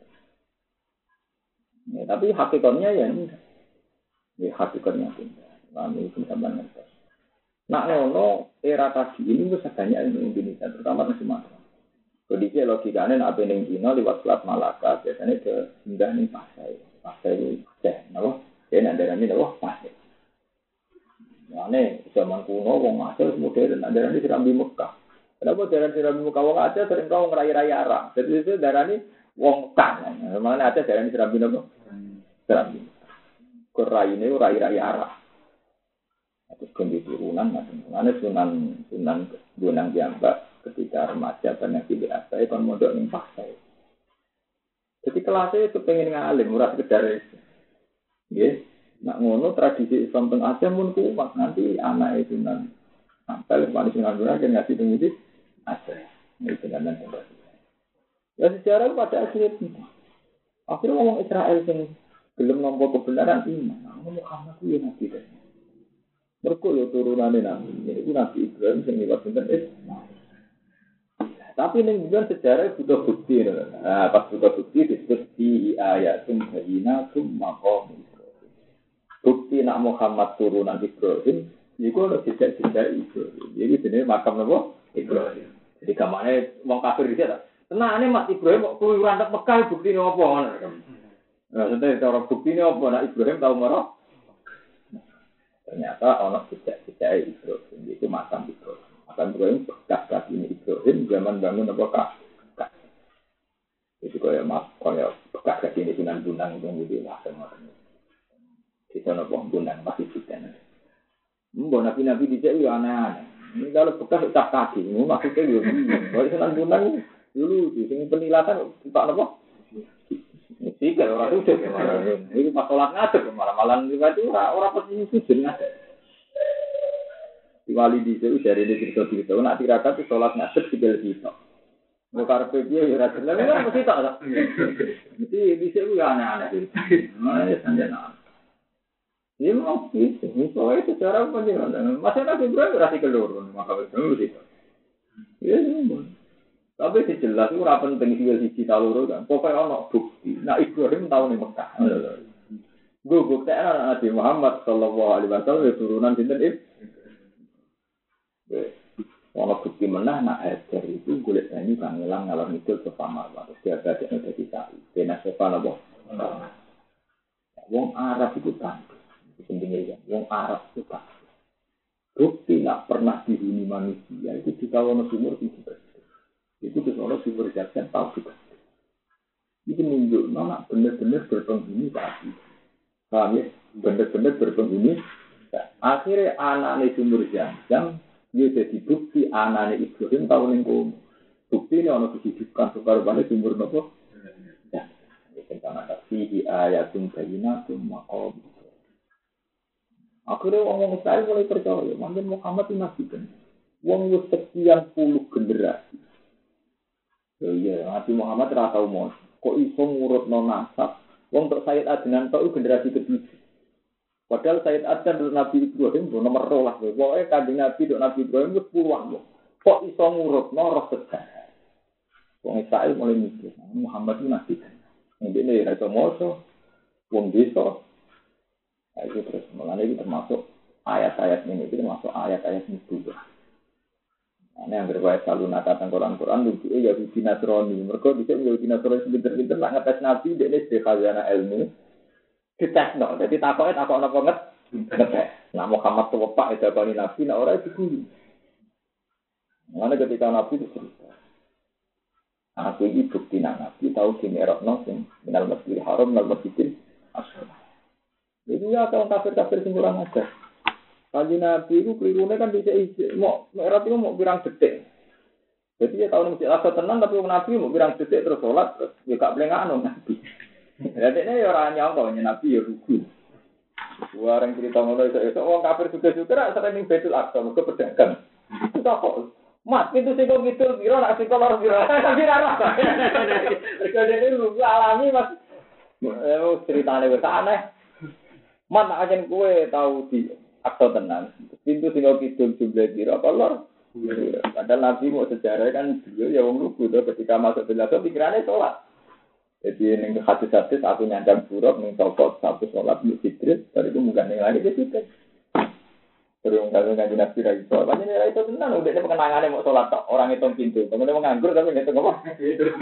Ya, tapi hakikatnya ya enggak. Ya hakikatnya tidak. Kami itu sama ngerti. Nak ngono era tadi ini bisa banyak di Indonesia, terutama di Sumatera. Kondisi logikanya nak pening Cina lewat Selat Malaka biasanya ke hingga nih Pasai itu teh, nabo. Jadi ada ini nabo Pasai. Mana zaman kuno wong Aceh modern, ada ini Serambi Mekah. Kenapa daerah Serambi Mekah wong Aceh sering kau ngerai-rai arah. Jadi itu daerah ini wong Mekah. Mana Aceh daerah ini Serambi nabo? Serambi. Kerai ini rai-rai arah. Terus kondisi turunan, mana Sunan Bonang Jambak ketika remaja banyak pilih apa, itu mondok yang pakai. Jadi kelasnya itu pengen ngalim, murah sekedar itu. Yes. Nak ngono tradisi Islam teng Aceh pun kuat. Nanti anak itu Sunan Ampel, Sunan Bonang kan ngasih tunggu Aceh. Ini dengan ya sejarah pada akhirnya. Akhirnya ngomong Israel sing belum nampak kebenaran iman. Muhammad itu nabi deh. Mereka ya turunannya nabi. Ini Nabi Ibrahim yang lewat bener Islam. Tapi ini bukan sejarah butuh bukti. Pas butuh bukti disebut di ayatum bayinatum maqam Ibrahim. Bukti nak Muhammad turunan Ibrahim, iku ono jejak-jejak Ibrahim. Iki jenenge makam napa? Ibrahim. Jadi kamane wong kafir iki ta. Tenane mat Ibrahim kok keluyuran tek Mekah buktine apa ngono. Nah, sebenarnya cara buktine apa nak Ibrahim tau marah? Ternyata ono jejak-jejak Ibrahim. Itu makam Ibrahim. Makam Ibrahim bekas kaki Ibrahim zaman bangun apa kah? Itu kaya bekas kaki ini Sunan yang jadi lah semacam. Di sana pembunuhan masih kita. Mbak nabi dicek ya aneh-aneh. Ini kalau bekas ucap kaki, ini maksudnya ya bingung. Kalau Sunan dulu di sini penilatan tak apa? Sih kalau orang sujud malah ini pas sholat ngadeg malah itu orang posisi sujud ngadeg. Di wali di sini dari cerita nak tirakat itu sholat ngadeg tinggal kita. Mau karpet dia ya rasa lagi kan mesti tak. Jadi di sini ya aneh-aneh. Mana sanjana. Ini mau sih, soalnya secara penjelasan masalah Ibrahim berarti keluar, maka betul sih. Ya, tapi jelas itu rapan penting sih taluru kan. Pokoknya ono bukti. Nah Ibrahim tahu nih Mekah. Gue bukti Nabi Muhammad Sallallahu Alaihi Wasallam turunan sinten ono bukti menah nak Hajar itu golek banyu kang ngelang ngalor ngidul sefamar. Terus dia gadekne dadi sapi. Dene sepan apa? Wong Arab itu kan pentingnya ya, yang Arab itu tak bukti nak pernah dihuni manusia itu di kawasan sumur itu kesono sumur jajan tahu juga itu menunjuk nak benar-benar berpenghuni tadi paham ya benar-benar berpenghuni akhirnya anaknya sumur jajan dia jadi bukti anaknya Ibrahim tahu lingkungan bukti ini orang kehidupan sukarupanya sumur nopo ya tentang ada fihi ayatum bayinatum maqam. Akhirnya orang Israel mulai percaya, mungkin Muhammad itu nabi kan. Wong wis sekian puluh generasi. Ya, Nabi Muhammad ora tau mos. Kok iso ngurutno nasab? Wong tok Sayyid Adnan tok generasi ketujuh. Padahal Sayyid Adnan dan Nabi Ibrahim nomor 12. Pokoke kanjeng Nabi dan Nabi Ibrahim wis puluhan. Kok iso ngurutno roh sejarah? Wong Israel mulai mikir, Muhammad itu nabi kan. Ini ora iso moso. Wong desa itu terus mulanya itu termasuk ayat-ayat ini itu termasuk ayat-ayat itu. Nah, yang berwajib selalu nakatan Quran lucu ya di Nasrani. Mereka bisa menjadi Nasrani sebentar-bentar nak ngetes Nabi dia ini khazanah ilmu. Dites no, jadi takoknya takok banget. Nah Muhammad tuh pak itu bani Nabi, nah orang itu guru. Mana ketika Nabi itu cerita, aku ini bukti Nabi tahu gini erokno sing minal masjidil haram minal masjidil asghar. Jadi ya kalau kafir-kafir kurang ajar. Kanjeng Nabi itu kelirune kan bisa isi. Mau merah itu mau birang detik. Jadi ya tahun masjid asal tenang tapi Nabi mau birang detik terus sholat terus ya gak boleh nganu Nabi. Jadi ini ya orang nyangka Nabi ya rugi. Orang cerita ngono itu orang kafir juga sering betul aktor ke pedagang. Itu kok Mas itu sih kok gitu biro nak sih kolor biro. Tapi rara. Jadi lu alami Mas. Ceritane wis aneh. Mana aja kue tahu di aktor tenang. Pintu tinggal kidul jumlah kira kolor. Padahal Nabi mau sejarah kan beliau ya wong lugu tuh ketika masuk belakang pikirannya sholat. Jadi neng hadis-hadis aku nyandang buruk neng topot satu sholat di fitri. Dari itu bukan yang lain di situ. Terus kalau ngaji Nabi lagi sholat, macam ni itu tenang. Udah ini pengenangannya mau sholat tak orang hitung pintu. Kemudian menganggur tapi nggak tahu apa.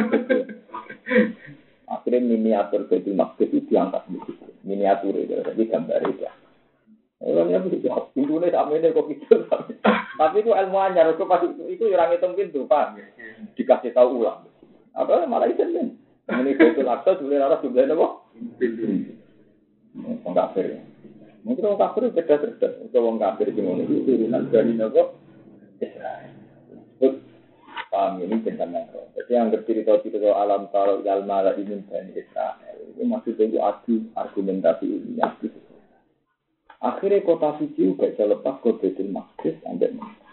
Akhirnya miniatur Baitul Maqdis itu diangkat di situ. Miniatur itu, jadi gambar itu. Orangnya begitu, pintunya sama ini kok gitu. Tapi itu ilmu anyar, itu orang hitung pintu, Pak. Dikasih tahu ulang. Apa malah itu kan? Ini Baitul Aqsa sebenarnya harus juga ada kok. Orang kafir. Mungkin orang kafir itu cerdas. Orang kafir di mana itu turunan dari Nabi Israel. Paham ini tentang jadi yang bercerita-cerita alam taruh ilmu ala ini dari Israel itu maksudnya itu adu argumentasi ini adu. Akhirnya kota suci juga bisa lepas ke Baitul Maqdis sampai Mekah.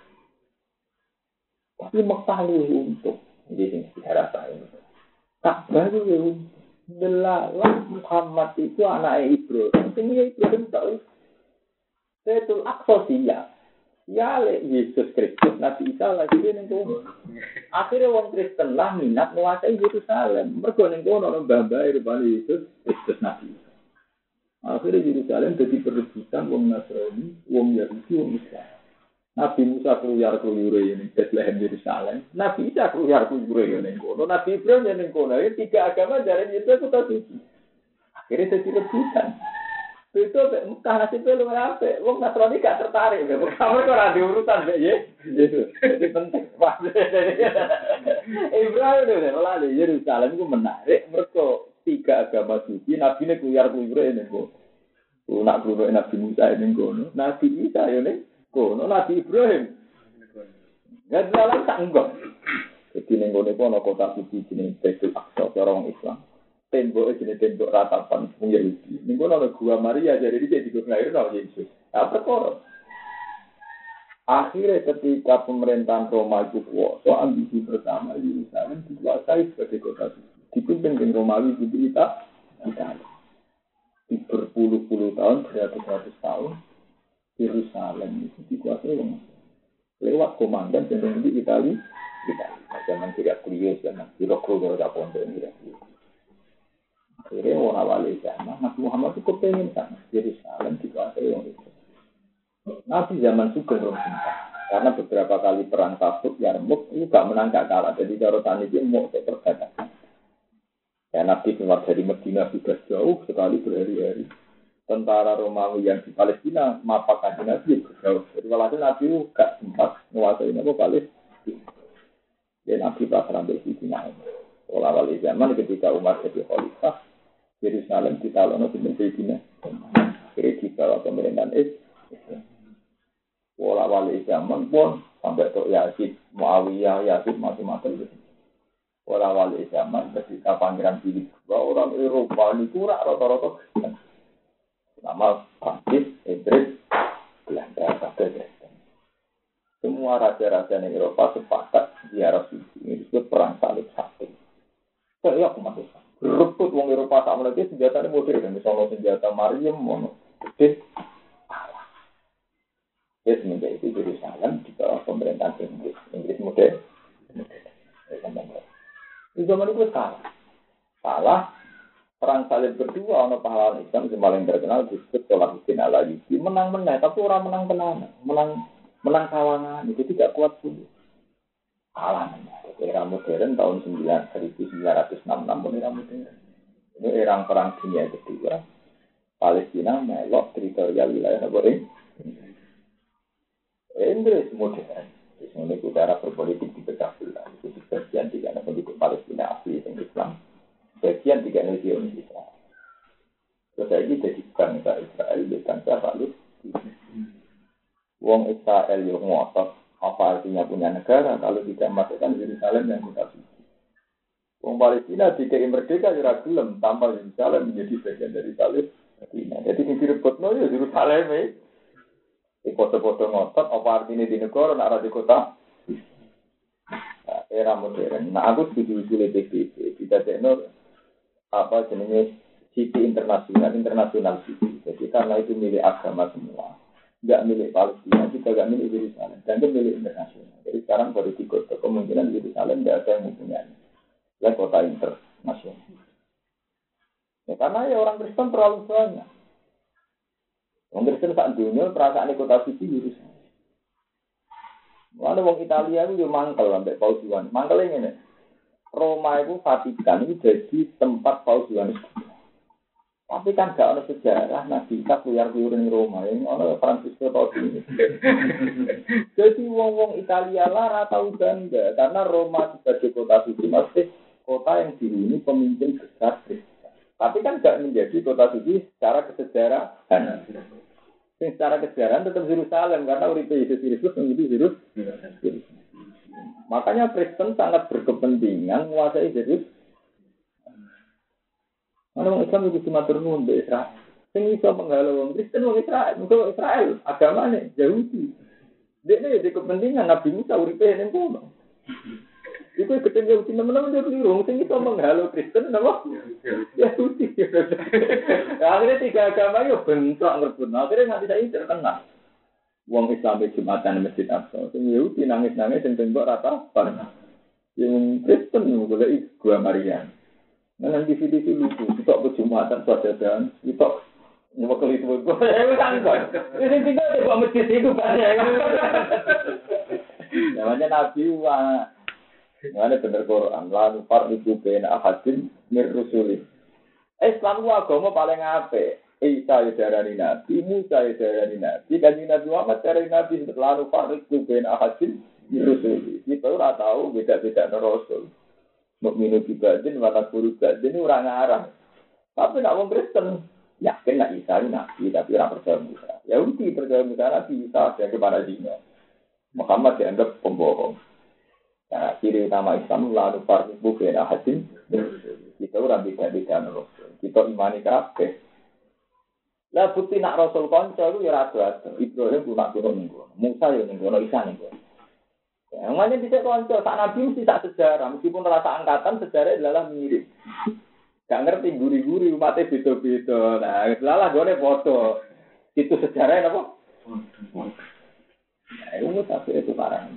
Tapi Mekah lebih untung. Jadi sejarah saya ini. Tak baru delalah Muhammad itu anak Ibrahim. Ini Ibrahim tahu. Baitul Aqsa siap. Ya, Yesus Kristus, Nabi Isa lagi dia nengko. Akhirnya orang Kristen lah minat menguasai Yerusalem. Mereka nengko orang bamba Yesus Kristus Nabi Isa. Akhirnya Yerusalem jadi perebutan wong Nasrani, wong Yahudi, wong Islam. Nabi Musa keluar ini Bethlehem Yerusalem. Nabi Isa keluar ini kono. Nabi Ibrahim yang kono. Ini tiga agama dari itu suci. Akhirnya jadi rebutan. Itu Mekah nasibnya lumayan apa? Wong Nasrani gak tertarik. Pertama kok ada urusan ya. Jadi penting. Ibrahim itu lalu Yerusalem itu menarik. Mereka tiga agama suci. Nabi ini keluar ini kono. Nak keluar Nabi Musa ini kono. Nabi Isa ini kono. Nabi Ibrahim. Gak dalam tak enggak. Jadi ning kono kota suci jenenge Baitul Aqsa orang Islam. Tembok jenis tembok ratapan wong Yahudi. Ning kono ana gua Maria jadi iki dilairno Yesus. Apa perkara? Akhirnya ketika pemerintahan Roma itu kuasa, ambisi pertama Yerusalem dikuasai sebagai kota suci. Dipimpin dengan Romawi di Italia. Di berpuluh-puluh tahun, beratus-ratus tahun, Yerusalem itu dikuasai orang lewat komandan yang di Italia. Zaman tidak kuliah, zaman Birokro, tidak pondok ini. Akhirnya orang awal zaman, Nabi Muhammad itu kepengen sana. Yerusalem dikuasai orang itu. Nabi zaman Sugeng Rosinta. Karena beberapa kali perang Tabuk, Yarmuk, itu gak menang gak kalah. Jadi cara tani dia mau perbatasan. Ya Nabi keluar dari Medina sudah jauh sekali berhari-hari. Tentara Romawi yang di Palestina, mapakan Nabi berjauh. Jadi walhasil Nabi itu gak sempat menguasai Nabi Palestina. Dan Nabi pasrah sampai sisi naik. Awal zaman ketika Umar jadi khalifah, Yerusalem ditalono di Medina. Akhirnya dibawa pemerintahan Islam. Awal zaman pun sampai Tok Yazid, Muawiyah, Yazid macam-macam. Awal zaman ketika Pangeran Philip II, orang Eropa itu rata-rata nama Prancis, Inggris, Belanda, Kristen. Semua raja-raja di Eropa sepakat ziarah suci ini disebut perang salib sakti. Saya aku masuk. Rebut wong Eropa sama lagi senjata ini modern, misalnya senjata Mariam, mono, gede. Jadi semenjak itu Yerusalem di bawah pemerintahan Inggris modern. Di zaman itu salah. Perang salib kedua, ono pahlawan Islam yang paling terkenal disebut Salahuddin Al-Ayyubi. Menang-menang, tapi orang menang tenang, menang kawangan itu tidak kuat pun. Kalangan. Era modern tahun 1966 pun era modern. Ini era perang dunia kedua. Palestina melok teritorial wilayah negara Inggris modern. Ini udara berpolitik di pecah belah. Itu bagian tiga penduduk Palestina asli yang Islam. Bagian tiga region Israel. Terus ini jadi bangsa Israel, bangsa Palestina. Wong Israel yang ngotot. Apa artinya punya negara kalau tidak masukkan Yerusalem yang kota suci? Wong Palestina dikai merdeka ya gelem tanpa Yerusalem menjadi bagian dari Palestina. Jadi ini direbutno ya Yerusalem foto-foto ngotot, apa artinya di negara, nak di kota? Era modern. Nah, aku setuju PBB. Kita tekno apa jenisnya city internasional city. Jadi karena itu milik agama semua, nggak milik Palestina, kita nggak milik Yerusalem, dan itu milik internasional. Jadi sekarang baru di kota kemungkinan Yerusalem nggak ada yang mempunyai. Ya kota internasional. Ya, karena ya orang Kristen terlalu banyak. Orang Kristen saat dunia perasaan kota suci Yerusalem. Mana orang Italia itu juga mangkel sampai Paus Yohanes. Mangkel ini, Roma itu Vatikan itu jadi tempat Paus Yohanes. Tapi kan gak ada sejarah Nabi Isa keluar-keluar di Roma. Ini ada Francisco Paus ini. Jadi wong-wong Italia lah tahu bangga karena Roma sebagai kota suci masih kota yang dihuni pemimpin besar. Tapi kan gak menjadi kota suci secara kesejarahan. Secara kesejarahan tetap Yerusalem karena uripe Yesus Kristus menjadi Yerusalem. Makanya Kristen sangat berkepentingan menguasai Yerusalem. Mana orang Islam itu cuma turun di Israel. Sing iso menghalau orang Kristen orang Israel, musuh Israel agamanya Yahudi. Dia ni kepentingan Nabi Musa uripe ning kono. Iku ketemu Yahudi teman-teman jadi liru, sing iso menghalau Kristen napa? Yahudi. Akhirnya tiga agama yo bentrok ngerebut. Akhirnya nganti saiki terkenal. Wong Islam di Jumatan Masjid Aqsa, sing Yahudi nangis-nangis sing tembok rata bareng. Yang Kristen golek gua Maria. Nang TV lucu, kita ke Jumatan sajadan, kita Nyebut itu gue kan kok. Ini tinggal di bawah masjid itu banyak. Namanya Nabi wa. Mana bener Quran. Lalu fardu bena ahadin mir rusuli. Islam ku agama paling apik. Isa ya darani Nabi, Musa ya darani Nabi, dan Nabi Muhammad darani Nabi. Lalu fardu bena ahadin mir rusuli. Kita ora tahu beda-beda rasul. Mukminu bibadin wa takfuru bibadin ini ora ngarah. Tapi nak wong Kristen yakin nak Isa ini Nabi, tapi ora percaya Musa. Yahudi percaya Musa Nabi Isa yang kepada dina. Muhammad dianggap pembohong. Nah, ciri utama Islam lalu fardu bena ahadin. Kita ora beda-beda rasul. Kita imani kabeh. Lah bukti nak rasul kanca iku ya rada-rada. Ibrahim ku nak turun ning kono. Musa ya ning kono, Isa ning kono. Ya, namanya bisa kanca sak nabi mesti sak sejarah, meskipun rasa angkatan sejarah adalah mirip. Gak ngerti guri-guri umatnya beda-beda. Nah, lalah gone foto. Itu sejarahnya apa? Nah, itu tapi itu parah.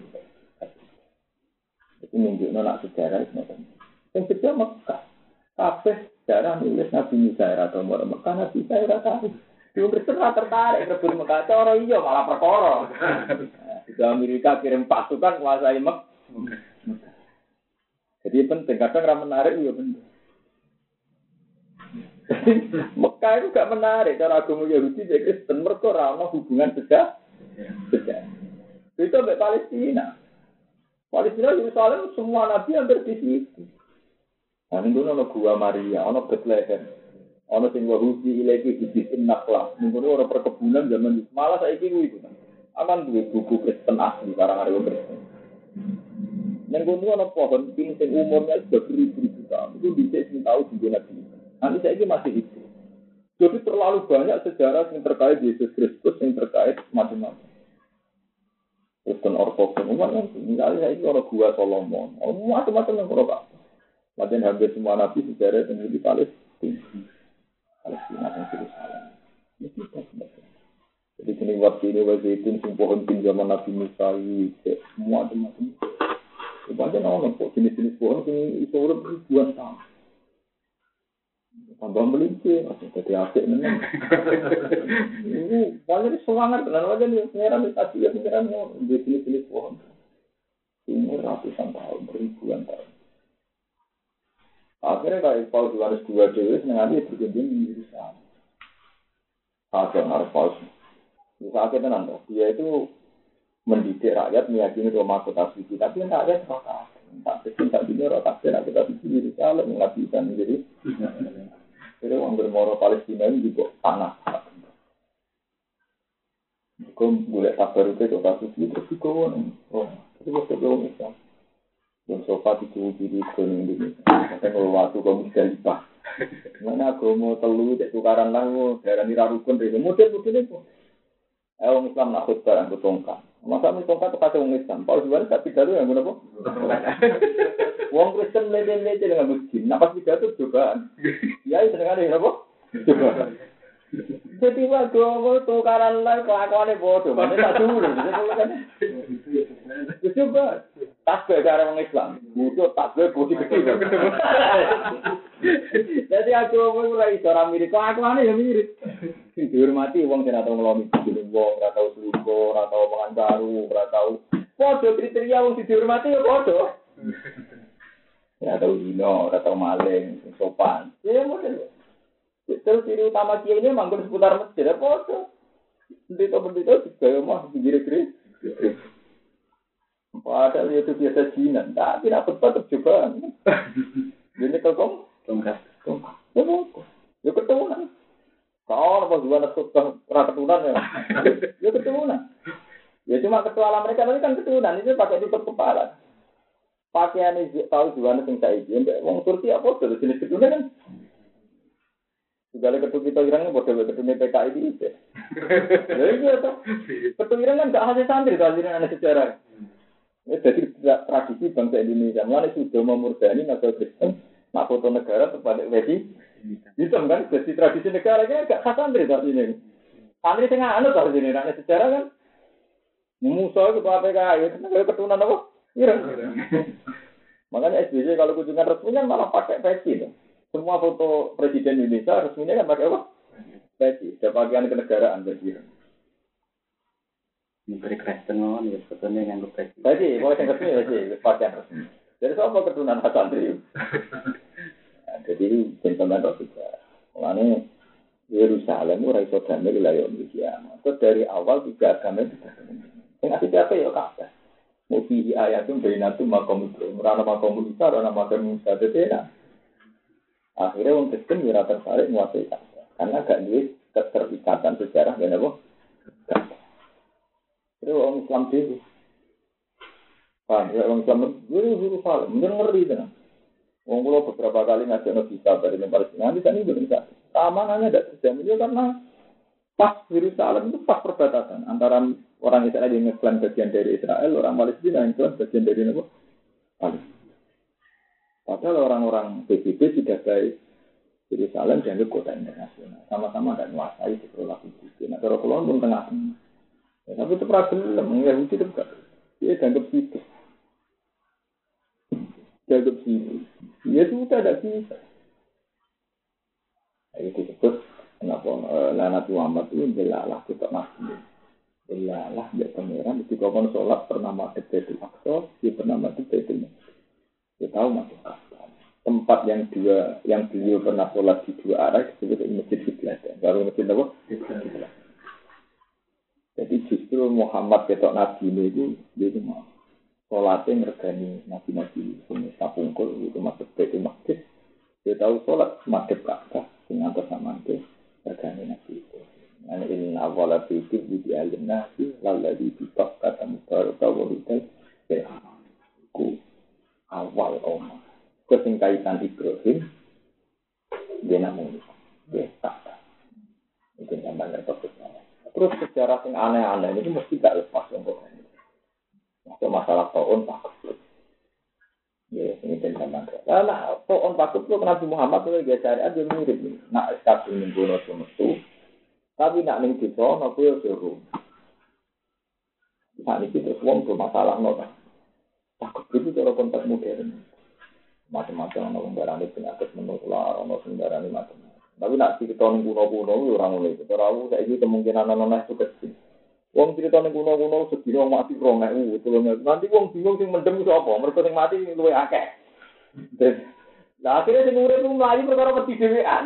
Itu nunjukno nak sejarah itu macam. Yang sejarah Mekah. Kabeh sejarah nulis Nabi Musa atau Mekah Nabi Isa ora tahu. Di Kristen tertarik rebut Mekah cara iya malah perkara. Di Amerika kirim pasukan kuasai Mekah. Jadi penting kadang ra menarik ya penting. Mekah itu gak menarik cara agama Yahudi dan Kristen mergo ora ono hubungan sejarah. Itu sampai Palestina. Palestina Yerusalem semua nabi hampir di situ. Nah, ini ada gua Maria, ada Bethlehem, ada sing wahusi ilaki dibikin naklah. Ini ada perkebunan zaman itu. Malah saya kira itu. Akan dua buku Kristen asli, karang-karang Kristen. Yang kedua ada pohon, ini yang umurnya sudah beribu-ribu tahun. Itu bisa tahu di Nabi. Nanti saya kira masih itu. Jadi terlalu banyak sejarah yang terkait Yesus Kristus, yang terkait macam-macam. Kristen Orthodoks, misalnya saya kira ada gua Solomon, macam-macam yang berubah. Macam hampir semua nabi sejarah yang di Palestina dan Yerusalem. Ini tidak sebenarnya. Jadi sini waktu ini Zaitun pohon pin zaman Nabi Musa semua macam-macam. Sebenarnya orang kok jenis-jenis pohon ini itu ribuan tahun. Tambah melintir, jadi asik memang. Ini banyak semangat dan wajah nih pengeran di tadi ya pengeran jenis-jenis pohon. Ini ratusan tahun, ribuan tahun. Akhirnya kayak Paus Yohanes II dewi sengaja berkunjung di Yerusalem. Akhirnya harus Paus. Misalnya nanti dia itu mendidik rakyat meyakini Roma kota suci, tapi rakyat kota. Tak betul tak dunia rotak dan kota suci di Yerusalem nggak bisa menjadi. Jadi orang bermoro Palestina ini juga tanah. Kalau boleh sabar itu kota suci terus juga oh itu bisa belum bisa. Yang sofa itu diri kono Indonesia. Kalau waktu kamu Musdalifah. Mana agama telu cek tukaran lang daerah nira rukun itu model-model itu. Orang Islam nak khutbah anggo tongkat. Masa tongkat pakai orang Islam. Paus Yohanes tak pidato yang guna apa? Wong Kristen lele-lele dengan muslim. Nak pas pidato cobaan. Ya itu dengan apa? Cobaan. Jadi agama tukaran lang kelakuannya bodoh. Mana tak dulu. Coba. Tasbih cara orang Islam, butuh tasbih budi gede. Jadi aku mau mulai orang mirip, aku aneh ya mirip. Dihormati uang tidak tahu ngelomi, uang tidak tahu selingkuh, tidak tahu omongan baru, tidak tahu. Podo kriteria uang dihormati ya podo. Tidak tahu zino, tidak tahu maling, sopan. Ya model. Terus ciri utama kia ini manggon seputar masjid, ya podo. Bendito juga mah giri-giri. Padahal itu biasa jinan, tapi nak tetap cobaan. Jadi kalau tongkat, ya keturunan. Kalau pas juga nak keturunan ya, ya keturunan. Ya cuma ketua alam mereka tapi kan keturunan itu pakai tutup kepala. Pakaian ini tahu juga nak sing saiki, wong Turki apa tuh jenis keturunan kan? Segala ketua kita irangnya bodoh ketua PKI ini. Jadi itu ketua irang kan gak hasil santri, hasilnya ada sejarah. Jadi tradisi bangsa Indonesia, mana sudah memurdani negara Kristen, nak foto negara kepada wedi, hitam kan? Jadi tradisi negara ini agak khas santri saat ini. Santri tengah anu saat ini, nak sejarah kan? Musuh itu apa PKI, negara keturunan apa? Iya. Makanya SBY kalau kunjungan resminya malah pakai peci. Semua foto presiden Indonesia resminya kan pakai apa? Bagi, ada pakaian kenegaraan bagi. Menteri Kristen ya sebetulnya yang bagi. Bagi, mulai yang resmi bagi pakaian resmi. Jadi soal keturunan santri. Jadi gentleman roh juga. Makanya Yerusalem ora iso damai wilayah Indonesia. Terus dari awal tiga agama itu yang asli siapa ya kabeh. Mufi ayatum bainatum makom itu. Ora makom Musa, ora makom Musa tetena. Akhirnya orang Kristen ora tertarik nguasai kabeh. Karena gak duwe keterikatan sejarah dan apa? Terus orang Islam dhewe. Paham ya orang Islam Yerusalem, mungkin ngeri tenan. Wong kula beberapa kali ngajak bisa dari Palestina, nanti kan itu bisa. Keamanannya tidak terjamin ya karena pas Yerusalem itu pas perbatasan antara orang Israel yang ngeklaim bagian dari Israel, orang Palestina yang ngeklaim bagian dari apa? Palestina. Padahal orang-orang PBB tidak baik Yerusalem dianggap kota internasional, sama-sama tidak menguasai sekolah PBB. Nah, kalau pulau pun tengah. Ya, tapi itu problem, Yahudi itu enggak. Dia dianggap situ. Dianggap situ. Ya itu tidak bisa. Itu disebut kenapa Nabi Muhammad itu jelalah kita masjid. Jelalah dia pangeran ketika kon sholat bernama Baitul Aqsa, dia bernama Baitul Maqdis. Dia tahu masuk Ka'bah. Tempat yang beliau pernah sholat di dua arah disebut Masjid Qiblat. Baru masjid apa? Qiblat. Jadi justru Muhammad ketok Nabi itu dia itu mau sholatnya ngergani Nabi-Nabi punya sapungkul itu masuk Baitul Maqdis. Dia tahu sholat madhep Ka'bah dengan bersama itu ngergani Nabi itu. Nah ini awal itu di alim Nabi lalu dibitak kata mubaraka wahutai ku awal omah kesingkaitan Ibrahim dia namanya dia Ka'bah itu namanya topiknya. Terus sejarah yang aneh-aneh ini mesti gak lepas untuk ini. Masalah tahun takut. Ya, ini tentang mana? Nah, tahun takut itu Nabi Muhammad itu dia cari aja mirip nih. Nak sekali minggu semestu, tapi nak ning desa, nak yo seru. Saat ini terus uang bermasalah nota. Takut itu cara konteks modern. Macam-macam orang barang penyakit menular, orang sembarang macam. Tapi nak cerita ning kuno-kuno orang mulai. Kalau saya ini kemungkinan anak-anak itu kecil. Wong cerita ning kuno-kuno sedina mati 2000 tulungan. Nanti wong bingung sing mendem iso apa? Mergo sing mati luwih akeh. Lah akhirnya sing urip ku mlayu perkara wedi dhewean.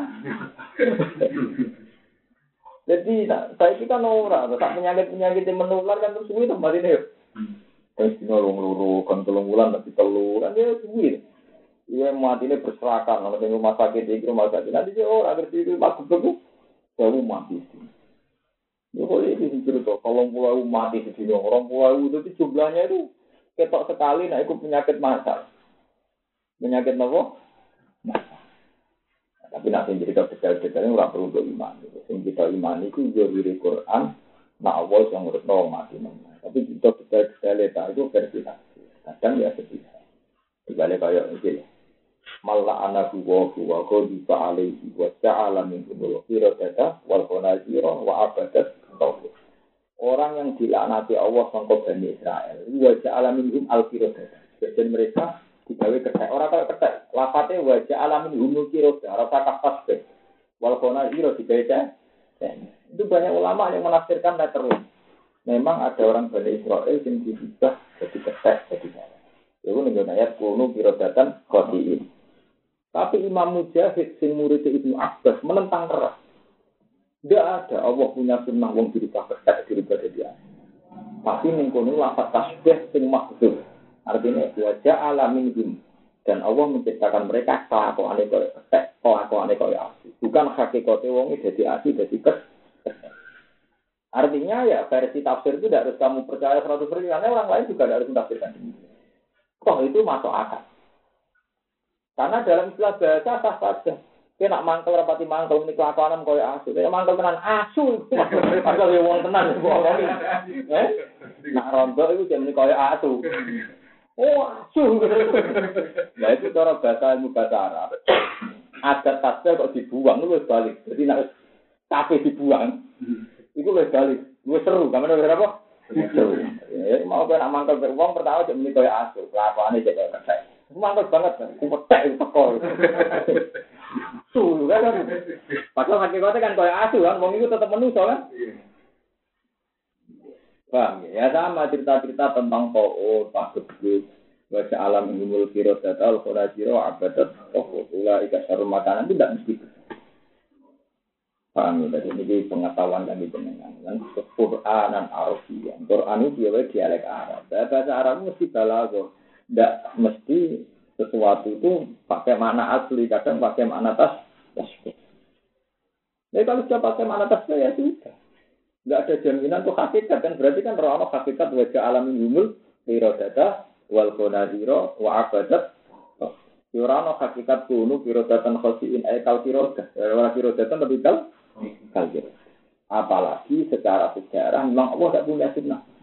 Jadi saiki kan ora, tak penyakit yang menular kan terus suwi to marine yo. Wis dina loro kan 3 bulan tapi telu kan ya suwi. Iya matine berserakan ana sing rumah sakit iki rumah sakit. Nanti yo ora ngerti iki maksud ku baru mati. Ya boleh cerita, kalau pulau mati di sini, orang pulau itu jumlahnya itu ketok sekali, nah itu penyakit masal. Penyakit apa? Masal. Nah, tapi nanti cerita detail-detailnya orang perlu iman. Yang kita iman itu dari Quran, nah awal yang urut mati. Tapi kita detail-detail itu versi asli. Kadang ya sedih. Dibalik kayak ini. Malah anak wa qadifa alaihi wa ta'ala min kulli data wal qanazira wa abadat tauhid. Orang yang dilaknati Allah sangka Bani Israel, wa ta'ala minhum al-qirodah. Jadi mereka digawe ketek. Ora kaya ketek. Lafate wa ta'ala minhum al-qirodah, ora kata fasbih. Wal qanazira dibaca. Itu banyak ulama yang menafsirkan terus. Memang ada orang Bani Israel yang diubah jadi ketek, jadi salah. Itu ning ayat kuno qirodatan qadiin. Tapi Imam Mujahid, sing murid Ibnu Abbas, menentang keras. Tidak ada Allah punya sunnah wong dirubah ketek, dirubah jadi aneh. Tapi mengkono lafaz tasbih sing mahdzuf. Artinya wajah alamin. Dan Allah menciptakan mereka kelakuane kaya ketek, kelakuane kaya asli. Bukan hakikate wong dadi asli, dadi ketek. Artinya ya versi tafsir itu tidak harus kamu percaya 100%, karena orang lain juga tidak harus mentafsirkan demikian. Toh itu masuk akal. Karena dalam istilah bahasa sah saja. Kita nak mangkel rapati mangkel ini kelakuanan kaya asu. Kita mangkel tenan asu. Mangkel ya wong tenan. Nak rontok itu jadi kaya asu. Oh asu. Nah itu cara bahasa ilmu bahasa Arab. Adat tasbih kok dibuang itu balik. Jadi nak kafe dibuang. Itu balik. Itu seru. Kamu ada berapa? Seru. Mau kan nak mangkel beruang pertama jadi kaya asu. Kelakuannya jadi kaya ketek. Mantap banget kan, kupetek itu kok. asu kan. Padahal hakikate kan koyo asu kan, wong iku tetep manusa kan. Paham ya? Sama cerita-cerita tentang To'o, Pak Gebut, baca alam ilmul kiro datal, khurajiro, abadat, tohutula, ikat sarum makanan itu tidak mesti. Paham ya? Jadi ini pengetahuan kami dengan Quran dan Arabian. Quran itu dia dialek Arab. Bahasa Arab mesti balago. Tidak mesti sesuatu itu pakai makna asli, kadang pakai makna tasbih. Jadi kalau sudah pakai makna tasbih ya sudah. Enggak ada jaminan tuh hakikat kan berarti kan roh hakikat wajah alamin humul irodata wal konadiro wa abadat yurano hakikat kunu irodatan khosiin aikal irodah wala irodatan lebih kal apalagi secara sejarah memang Allah tidak punya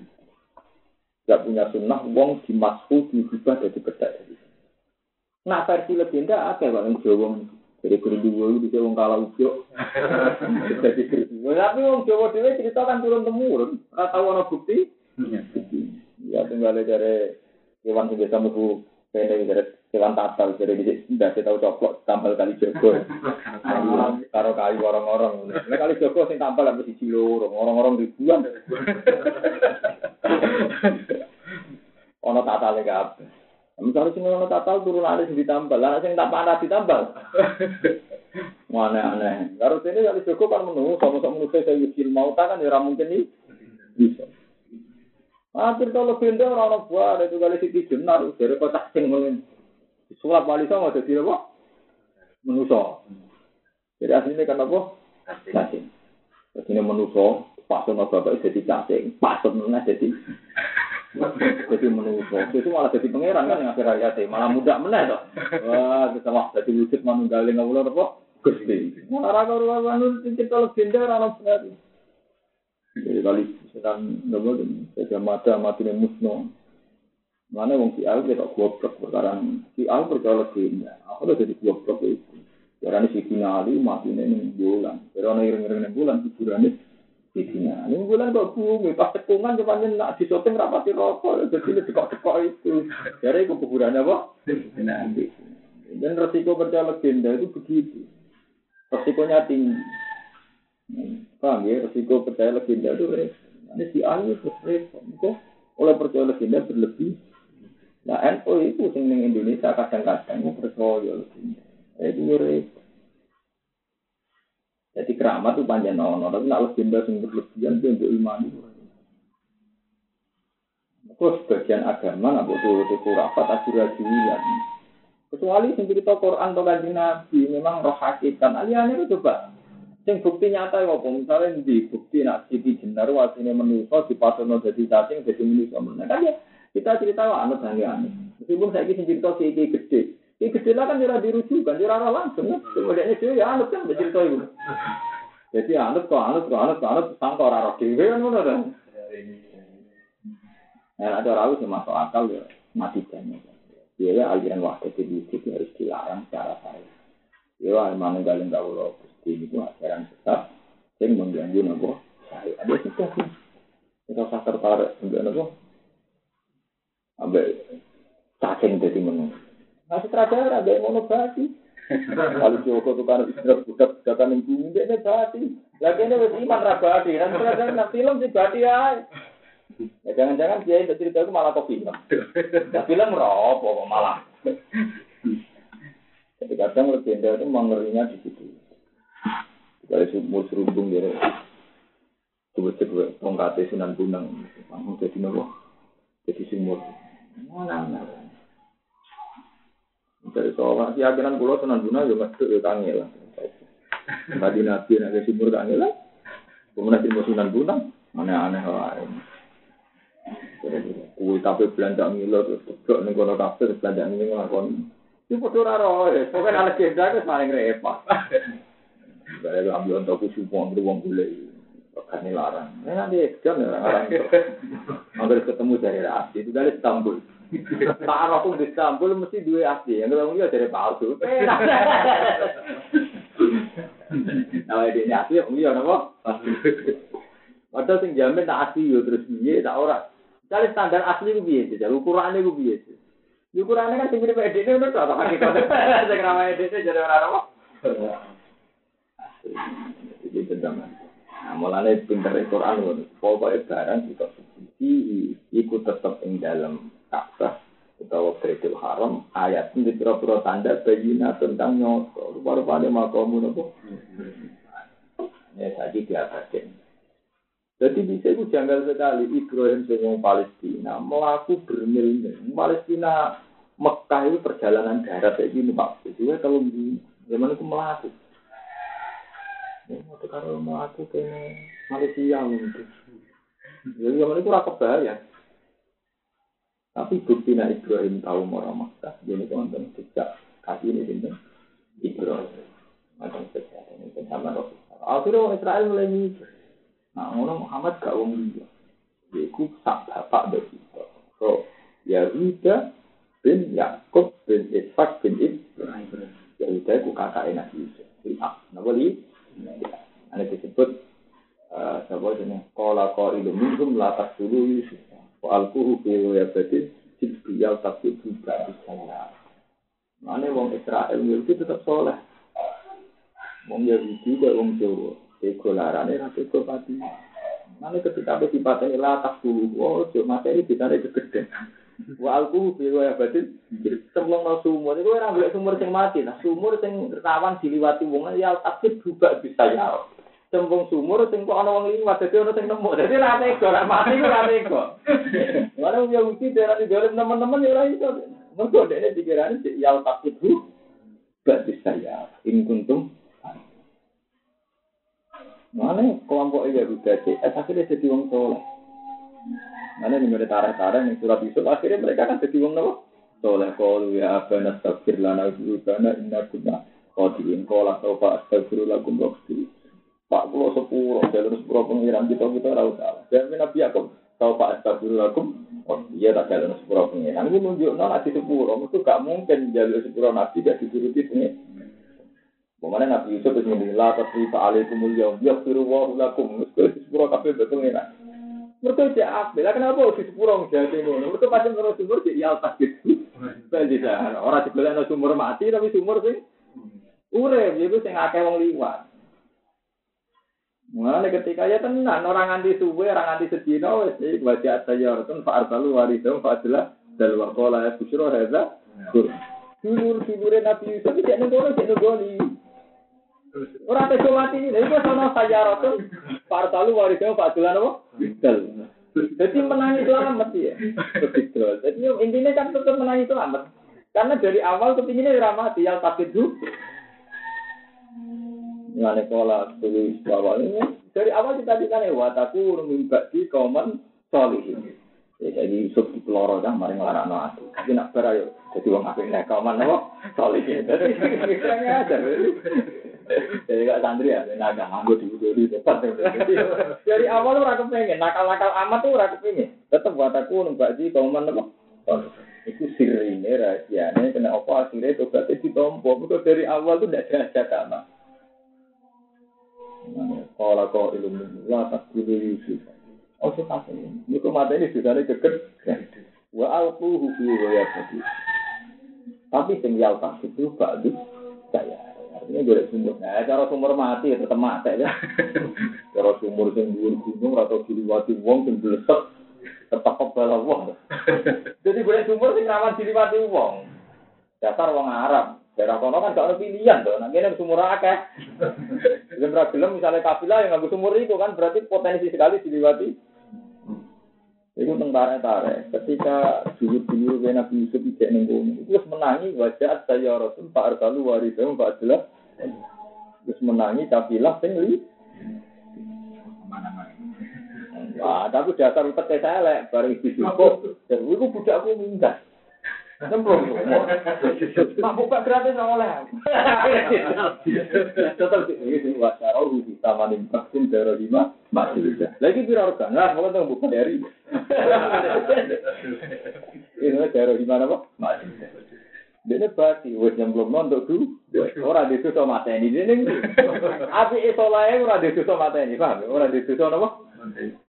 sunnah wong dimasku diubah dari bedak nah versi legenda ada yang Jawa jadi guru-guru di wong kala ujuk. Jadi guru. Tapi wong Jawa dhewe cerita kan turun-temurun, ora tau ana bukti. Ya tinggal dari hewan sing biasa mlebu kene dari hewan tatal dari ndak tahu coplok tampil kali Jogo. Karo kayu orang-orang. Nek kali Jogo sing tampil ambek siji loro, orang-orang ribuan. Ono tatale kabeh. Misalnya sing ono tatal turunane sing ditambal, lah sing tak panah ditambal. Aneh-aneh. Karo dene kali Joko kan menunggu sama-sama menunggu saya yukil mauta kan ya ora mungkin iki. Bisa. Akhir kalau benda orang buah itu kali siti jenar dari kotak sing ngono. Sulap wali sama dadi apa? Menuso. Jadi aslinya kan apa? Cacing. Jadi menuso, pasono bapak jadi cacing, pasono jadi menuso. Itu malah jadi pangeran kan yang akhir hayat malah mudah meneh toh. Wah, kita wah jadi wujud manunggaling kawula apa? Gusti. Ora karo anu cerita legenda ora ono. Jadi kali sedang nopo saja mati musno. Mana wong si Al kita goblok sekarang si Al percaya legenda. Aku udah jadi goblok itu. Karena si finali matine ning bulan. Karena ireng-ireng ning bulan hiburane Sidina, ini bulan kok bumi, pas tekungan cuman nak di shopping rapati rokok, jadi dekok-dekok itu. Jadi itu kuburannya apa? Nanti. Dan resiko percaya legenda itu begitu. Resikonya tinggi. Paham ya, resiko percaya legenda itu ini si ahli terus oleh percaya legenda berlebih. Nah, NU itu yang di Indonesia kadang-kadang percaya legenda. Itu repot. Jadi keramat itu panjang nono, tapi nak legenda sing berlebihan itu untuk iman itu. Terus sebagian agama nak butuh kurafat asyurajulan. Kecuali sing cerita Quran atau Kanjeng Nabi memang roh hakikat. Aliane itu coba. Sing bukti nyata ya apa? Misalnya di bukti nak siti jenar wasine manusa dipasono dadi cacing dadi manusa. Nah kan ya kita cerita wae anut aneh. Meskipun saiki sing cerita siti gede. Iki gede lah kan ora dirujukan, ora langsung. Kemudian itu ya anut kan cerita itu. Jadi anut sangka ora roh dhewe kan ngono ta. Nah, ada orang yang masuk akal ya mati banyak. Dia aliran wahdat itu harus dilarang secara saya. Dia memang galeng kawula Gusti itu ajaran sesat sing mengganggu napa saya. Ada kita sih. Kita tertarik dengan napa? Ambek cacing dadi menung. Nah, sutradara ada yang monobati. Kalau Joko itu kan budak-budakan yang bumi, dia bati. Lagi ini harus iman rabati. Dan sutradara film sih bati ya. Ya jangan-jangan dia itu cerita itu malah kok film. Nah, film merokok malah. Jadi kadang legenda itu mengerinya di situ. Kalau sumur serubung dia, coba-coba tongkatnya Sunan Bonang, langsung jadi nopo, jadi sumur. Mana? Dari seorang keyakinan pulau Sunan Bonang juga masuk ke Kangil. Tadi Nabi nak sumur Kangil, kemudian di Sunan Bonang aneh-aneh lain. Kui tapi belanja Milo terus teblok ning kono kabeh terus belanja ning nglakoni. Iki padha ora roe, pokoke ana legenda wis paling repot. Bare ambil untuk kusupo wong golek. Kan larang. Nanti jam larang. Hampir ketemu dari asli itu dari Istanbul. Pak aku di Istanbul mesti dua asli. Yang ketemu dari palsu. Nah, ini asli om iya napa? Padahal sing jamin tak asli yo terus piye tak ora. Kali standar asli ku piye? Jadi ukurane ku piye? Ukurane kan sing mirip edene ngono to, hakikat. Sing ramai edene jadi ora apa. Jadi benar. Nah, mulanya pinter Quran, pokoknya barang kita suci, ikut tetap ing dalam Ka'bah atau Baitul Haram. Ayat ini pura-pura tanda bayina tentang nyoto. Rupa-rupanya makamu nopo. Ya tadi diabadin. Jadi bisa itu janggal sekali Ibrahim senyum Palestina melaku bermil-mil. Palestina Mekah itu perjalanan darat kayak gini Pak. Jadi kalau di zaman itu melaku. Mau kalau melaku ke Malaysia mungkin. Jadi zaman itu rakyat bahaya. Tapi bukti Ibrahim tahu orang Mekah. Jadi teman-teman sejak kaki ini ini Ibrahim. Macam sejak ini sama Rasul. Akhirnya orang Israel mulai mikir. Nah, orang Muhammad gak wong dia. Iku sak bapak dari kita. So, Yahuda bin Yakub bin Ishak bin Ibrahim. Yahuda itu kakaknya Nabi Yusuf. Kenapa li? Ini disebut siapa jenis? Qala qailun minhum la taqtulu Yusuf. Wa alquhu fi yabadin jibril tapi juga disayang. Mane wong Israel itu tetap soleh. Wong Yahudi kok wong Jawa. Ego larane ra ego pati. Mane ketika wis dipateni la taqtulu, oh yo materi ditane gegeden. Wa alquhu fi yabadin semlong nang sumur. Iku ora golek sumur sing mati. Nah, sumur sing rawan diliwati wong ya takdir juga bisa ya. Sembung sumur sing kok ana wong liwat dadi ana sing nemu. Dadi ra ego ra mati ku ra ego. Ora yo mesti darah di dalam teman-teman ya ora iso. Mergo dekne pikirane ya takdir juga bisa ya. In kuntum mana kelompok Yahuda akhirnya jadi wong soleh. Mana nih mereka tarik-tarik yang surat Yusuf akhirnya mereka kan jadi wong apa? Soleh kalau ya abana astagfir lana ibudana inna kunna qadiin qala sawfa astaghfiru lakum rabbi. Pak kula sepuro jalur sepuro pengiran kita ora usah. Dan Nabi Yakub sawfa astaghfiru lakum. Oh iya tak jalur sepuro pengiran. Ini nunjukno nek sepuro itu gak mungkin jalur sepuro Nabi gak dituruti pengiran. Bagaimana Nabi Yusuf itu menilai tasrifa alaikumul yaum yaghfiru wa lakum. Mesti sepuro kabeh betul ngene. Mereka cek apa? Kenapa di sepuro ngejati ngono? Mereka pasti terus sumur di altas gitu. Bagi dah. Orang sebelah ada sumur mati tapi sumur sing urip itu sing akeh wong liwat. Mulane ketika ya tenan orang nganti suwe, orang nganti sedina wis iki wajah tayaratun fa arsalu waridum fa adla dal waqala ya busyra hadza. Dulur-dulure Nabi Yusuf iki nek ngono cek nggoni. Ora teko mati, lha iku sono sajaratun partalu warisnya Pak Dulan apa? Betul. Jadi menangi selamat ya. Betul. Jadi intinya kan tetap menangi selamat. Karena dari awal kepinginnya ramati yang takut itu. Ngene pola tulis awalnya dari awal kita ditanya wataku mimpi kauman solihin. Jadi Yusuf di peloro dah mari nglarano aku. Tapi nak berayo jadi wong apik nek kauman apa? Solihin. Jadi kira-kira aja. Jadi gak santri ya, naga nganggo di depan. Dari awal ora kepengin, nakal-nakal amat tuh ora kepengin. Tetep wataku nembak di kauman apa? Itu sirine rahasiane kena apa akhirnya tobatnya ditompo. Mergo dari awal tuh ndak ada sama. Kalau kau ilmu lah tak kudu Yusuf. Oh sepatutnya. Mergo mata ini sudah geger. Wa alquhu fi ghayati. Tapi sing yal tak itu bagus saya. Artinya golek sumur. Nah, cara sumur mati tetep mati ya. Cara sumur sing dhuwur gunung atau diliwati wong sing blesek tetep kebal wong. Jadi golek sumur sing rawan diliwati wong. Dasar wong Arab. Daerah kono kan gak ada pilihan to. Nek ngene sumur akeh. Gelem gelem misalnya kafilah yang nganggo sumur itu kan berarti potensi sekali diliwati. Itu tentara-tentara. Ketika dulu Nabi Yusuf ijek ning kono, itu wis menangi wajah saya Rasul Pak Arsalu waridum Pak Abdullah. Wis menangi kafilah sing li. Mana-mana. Wah, tapi dasar utek elek bareng disukup. Terus iku budakku minggat. Semprong. Mak buka gratis oleh. Tetap iki wacara rugi sama ning vaksin daerah 5 masih bisa. Lagi pira organ lah kalau teng buka dari. Ini daerah di mana, Pak? Masih bisa. Dene pasti wis nyemplung nonton du. Ora dituso mateni dene. Api iso lae ora dituso mateni, paham? Ora dituso napa?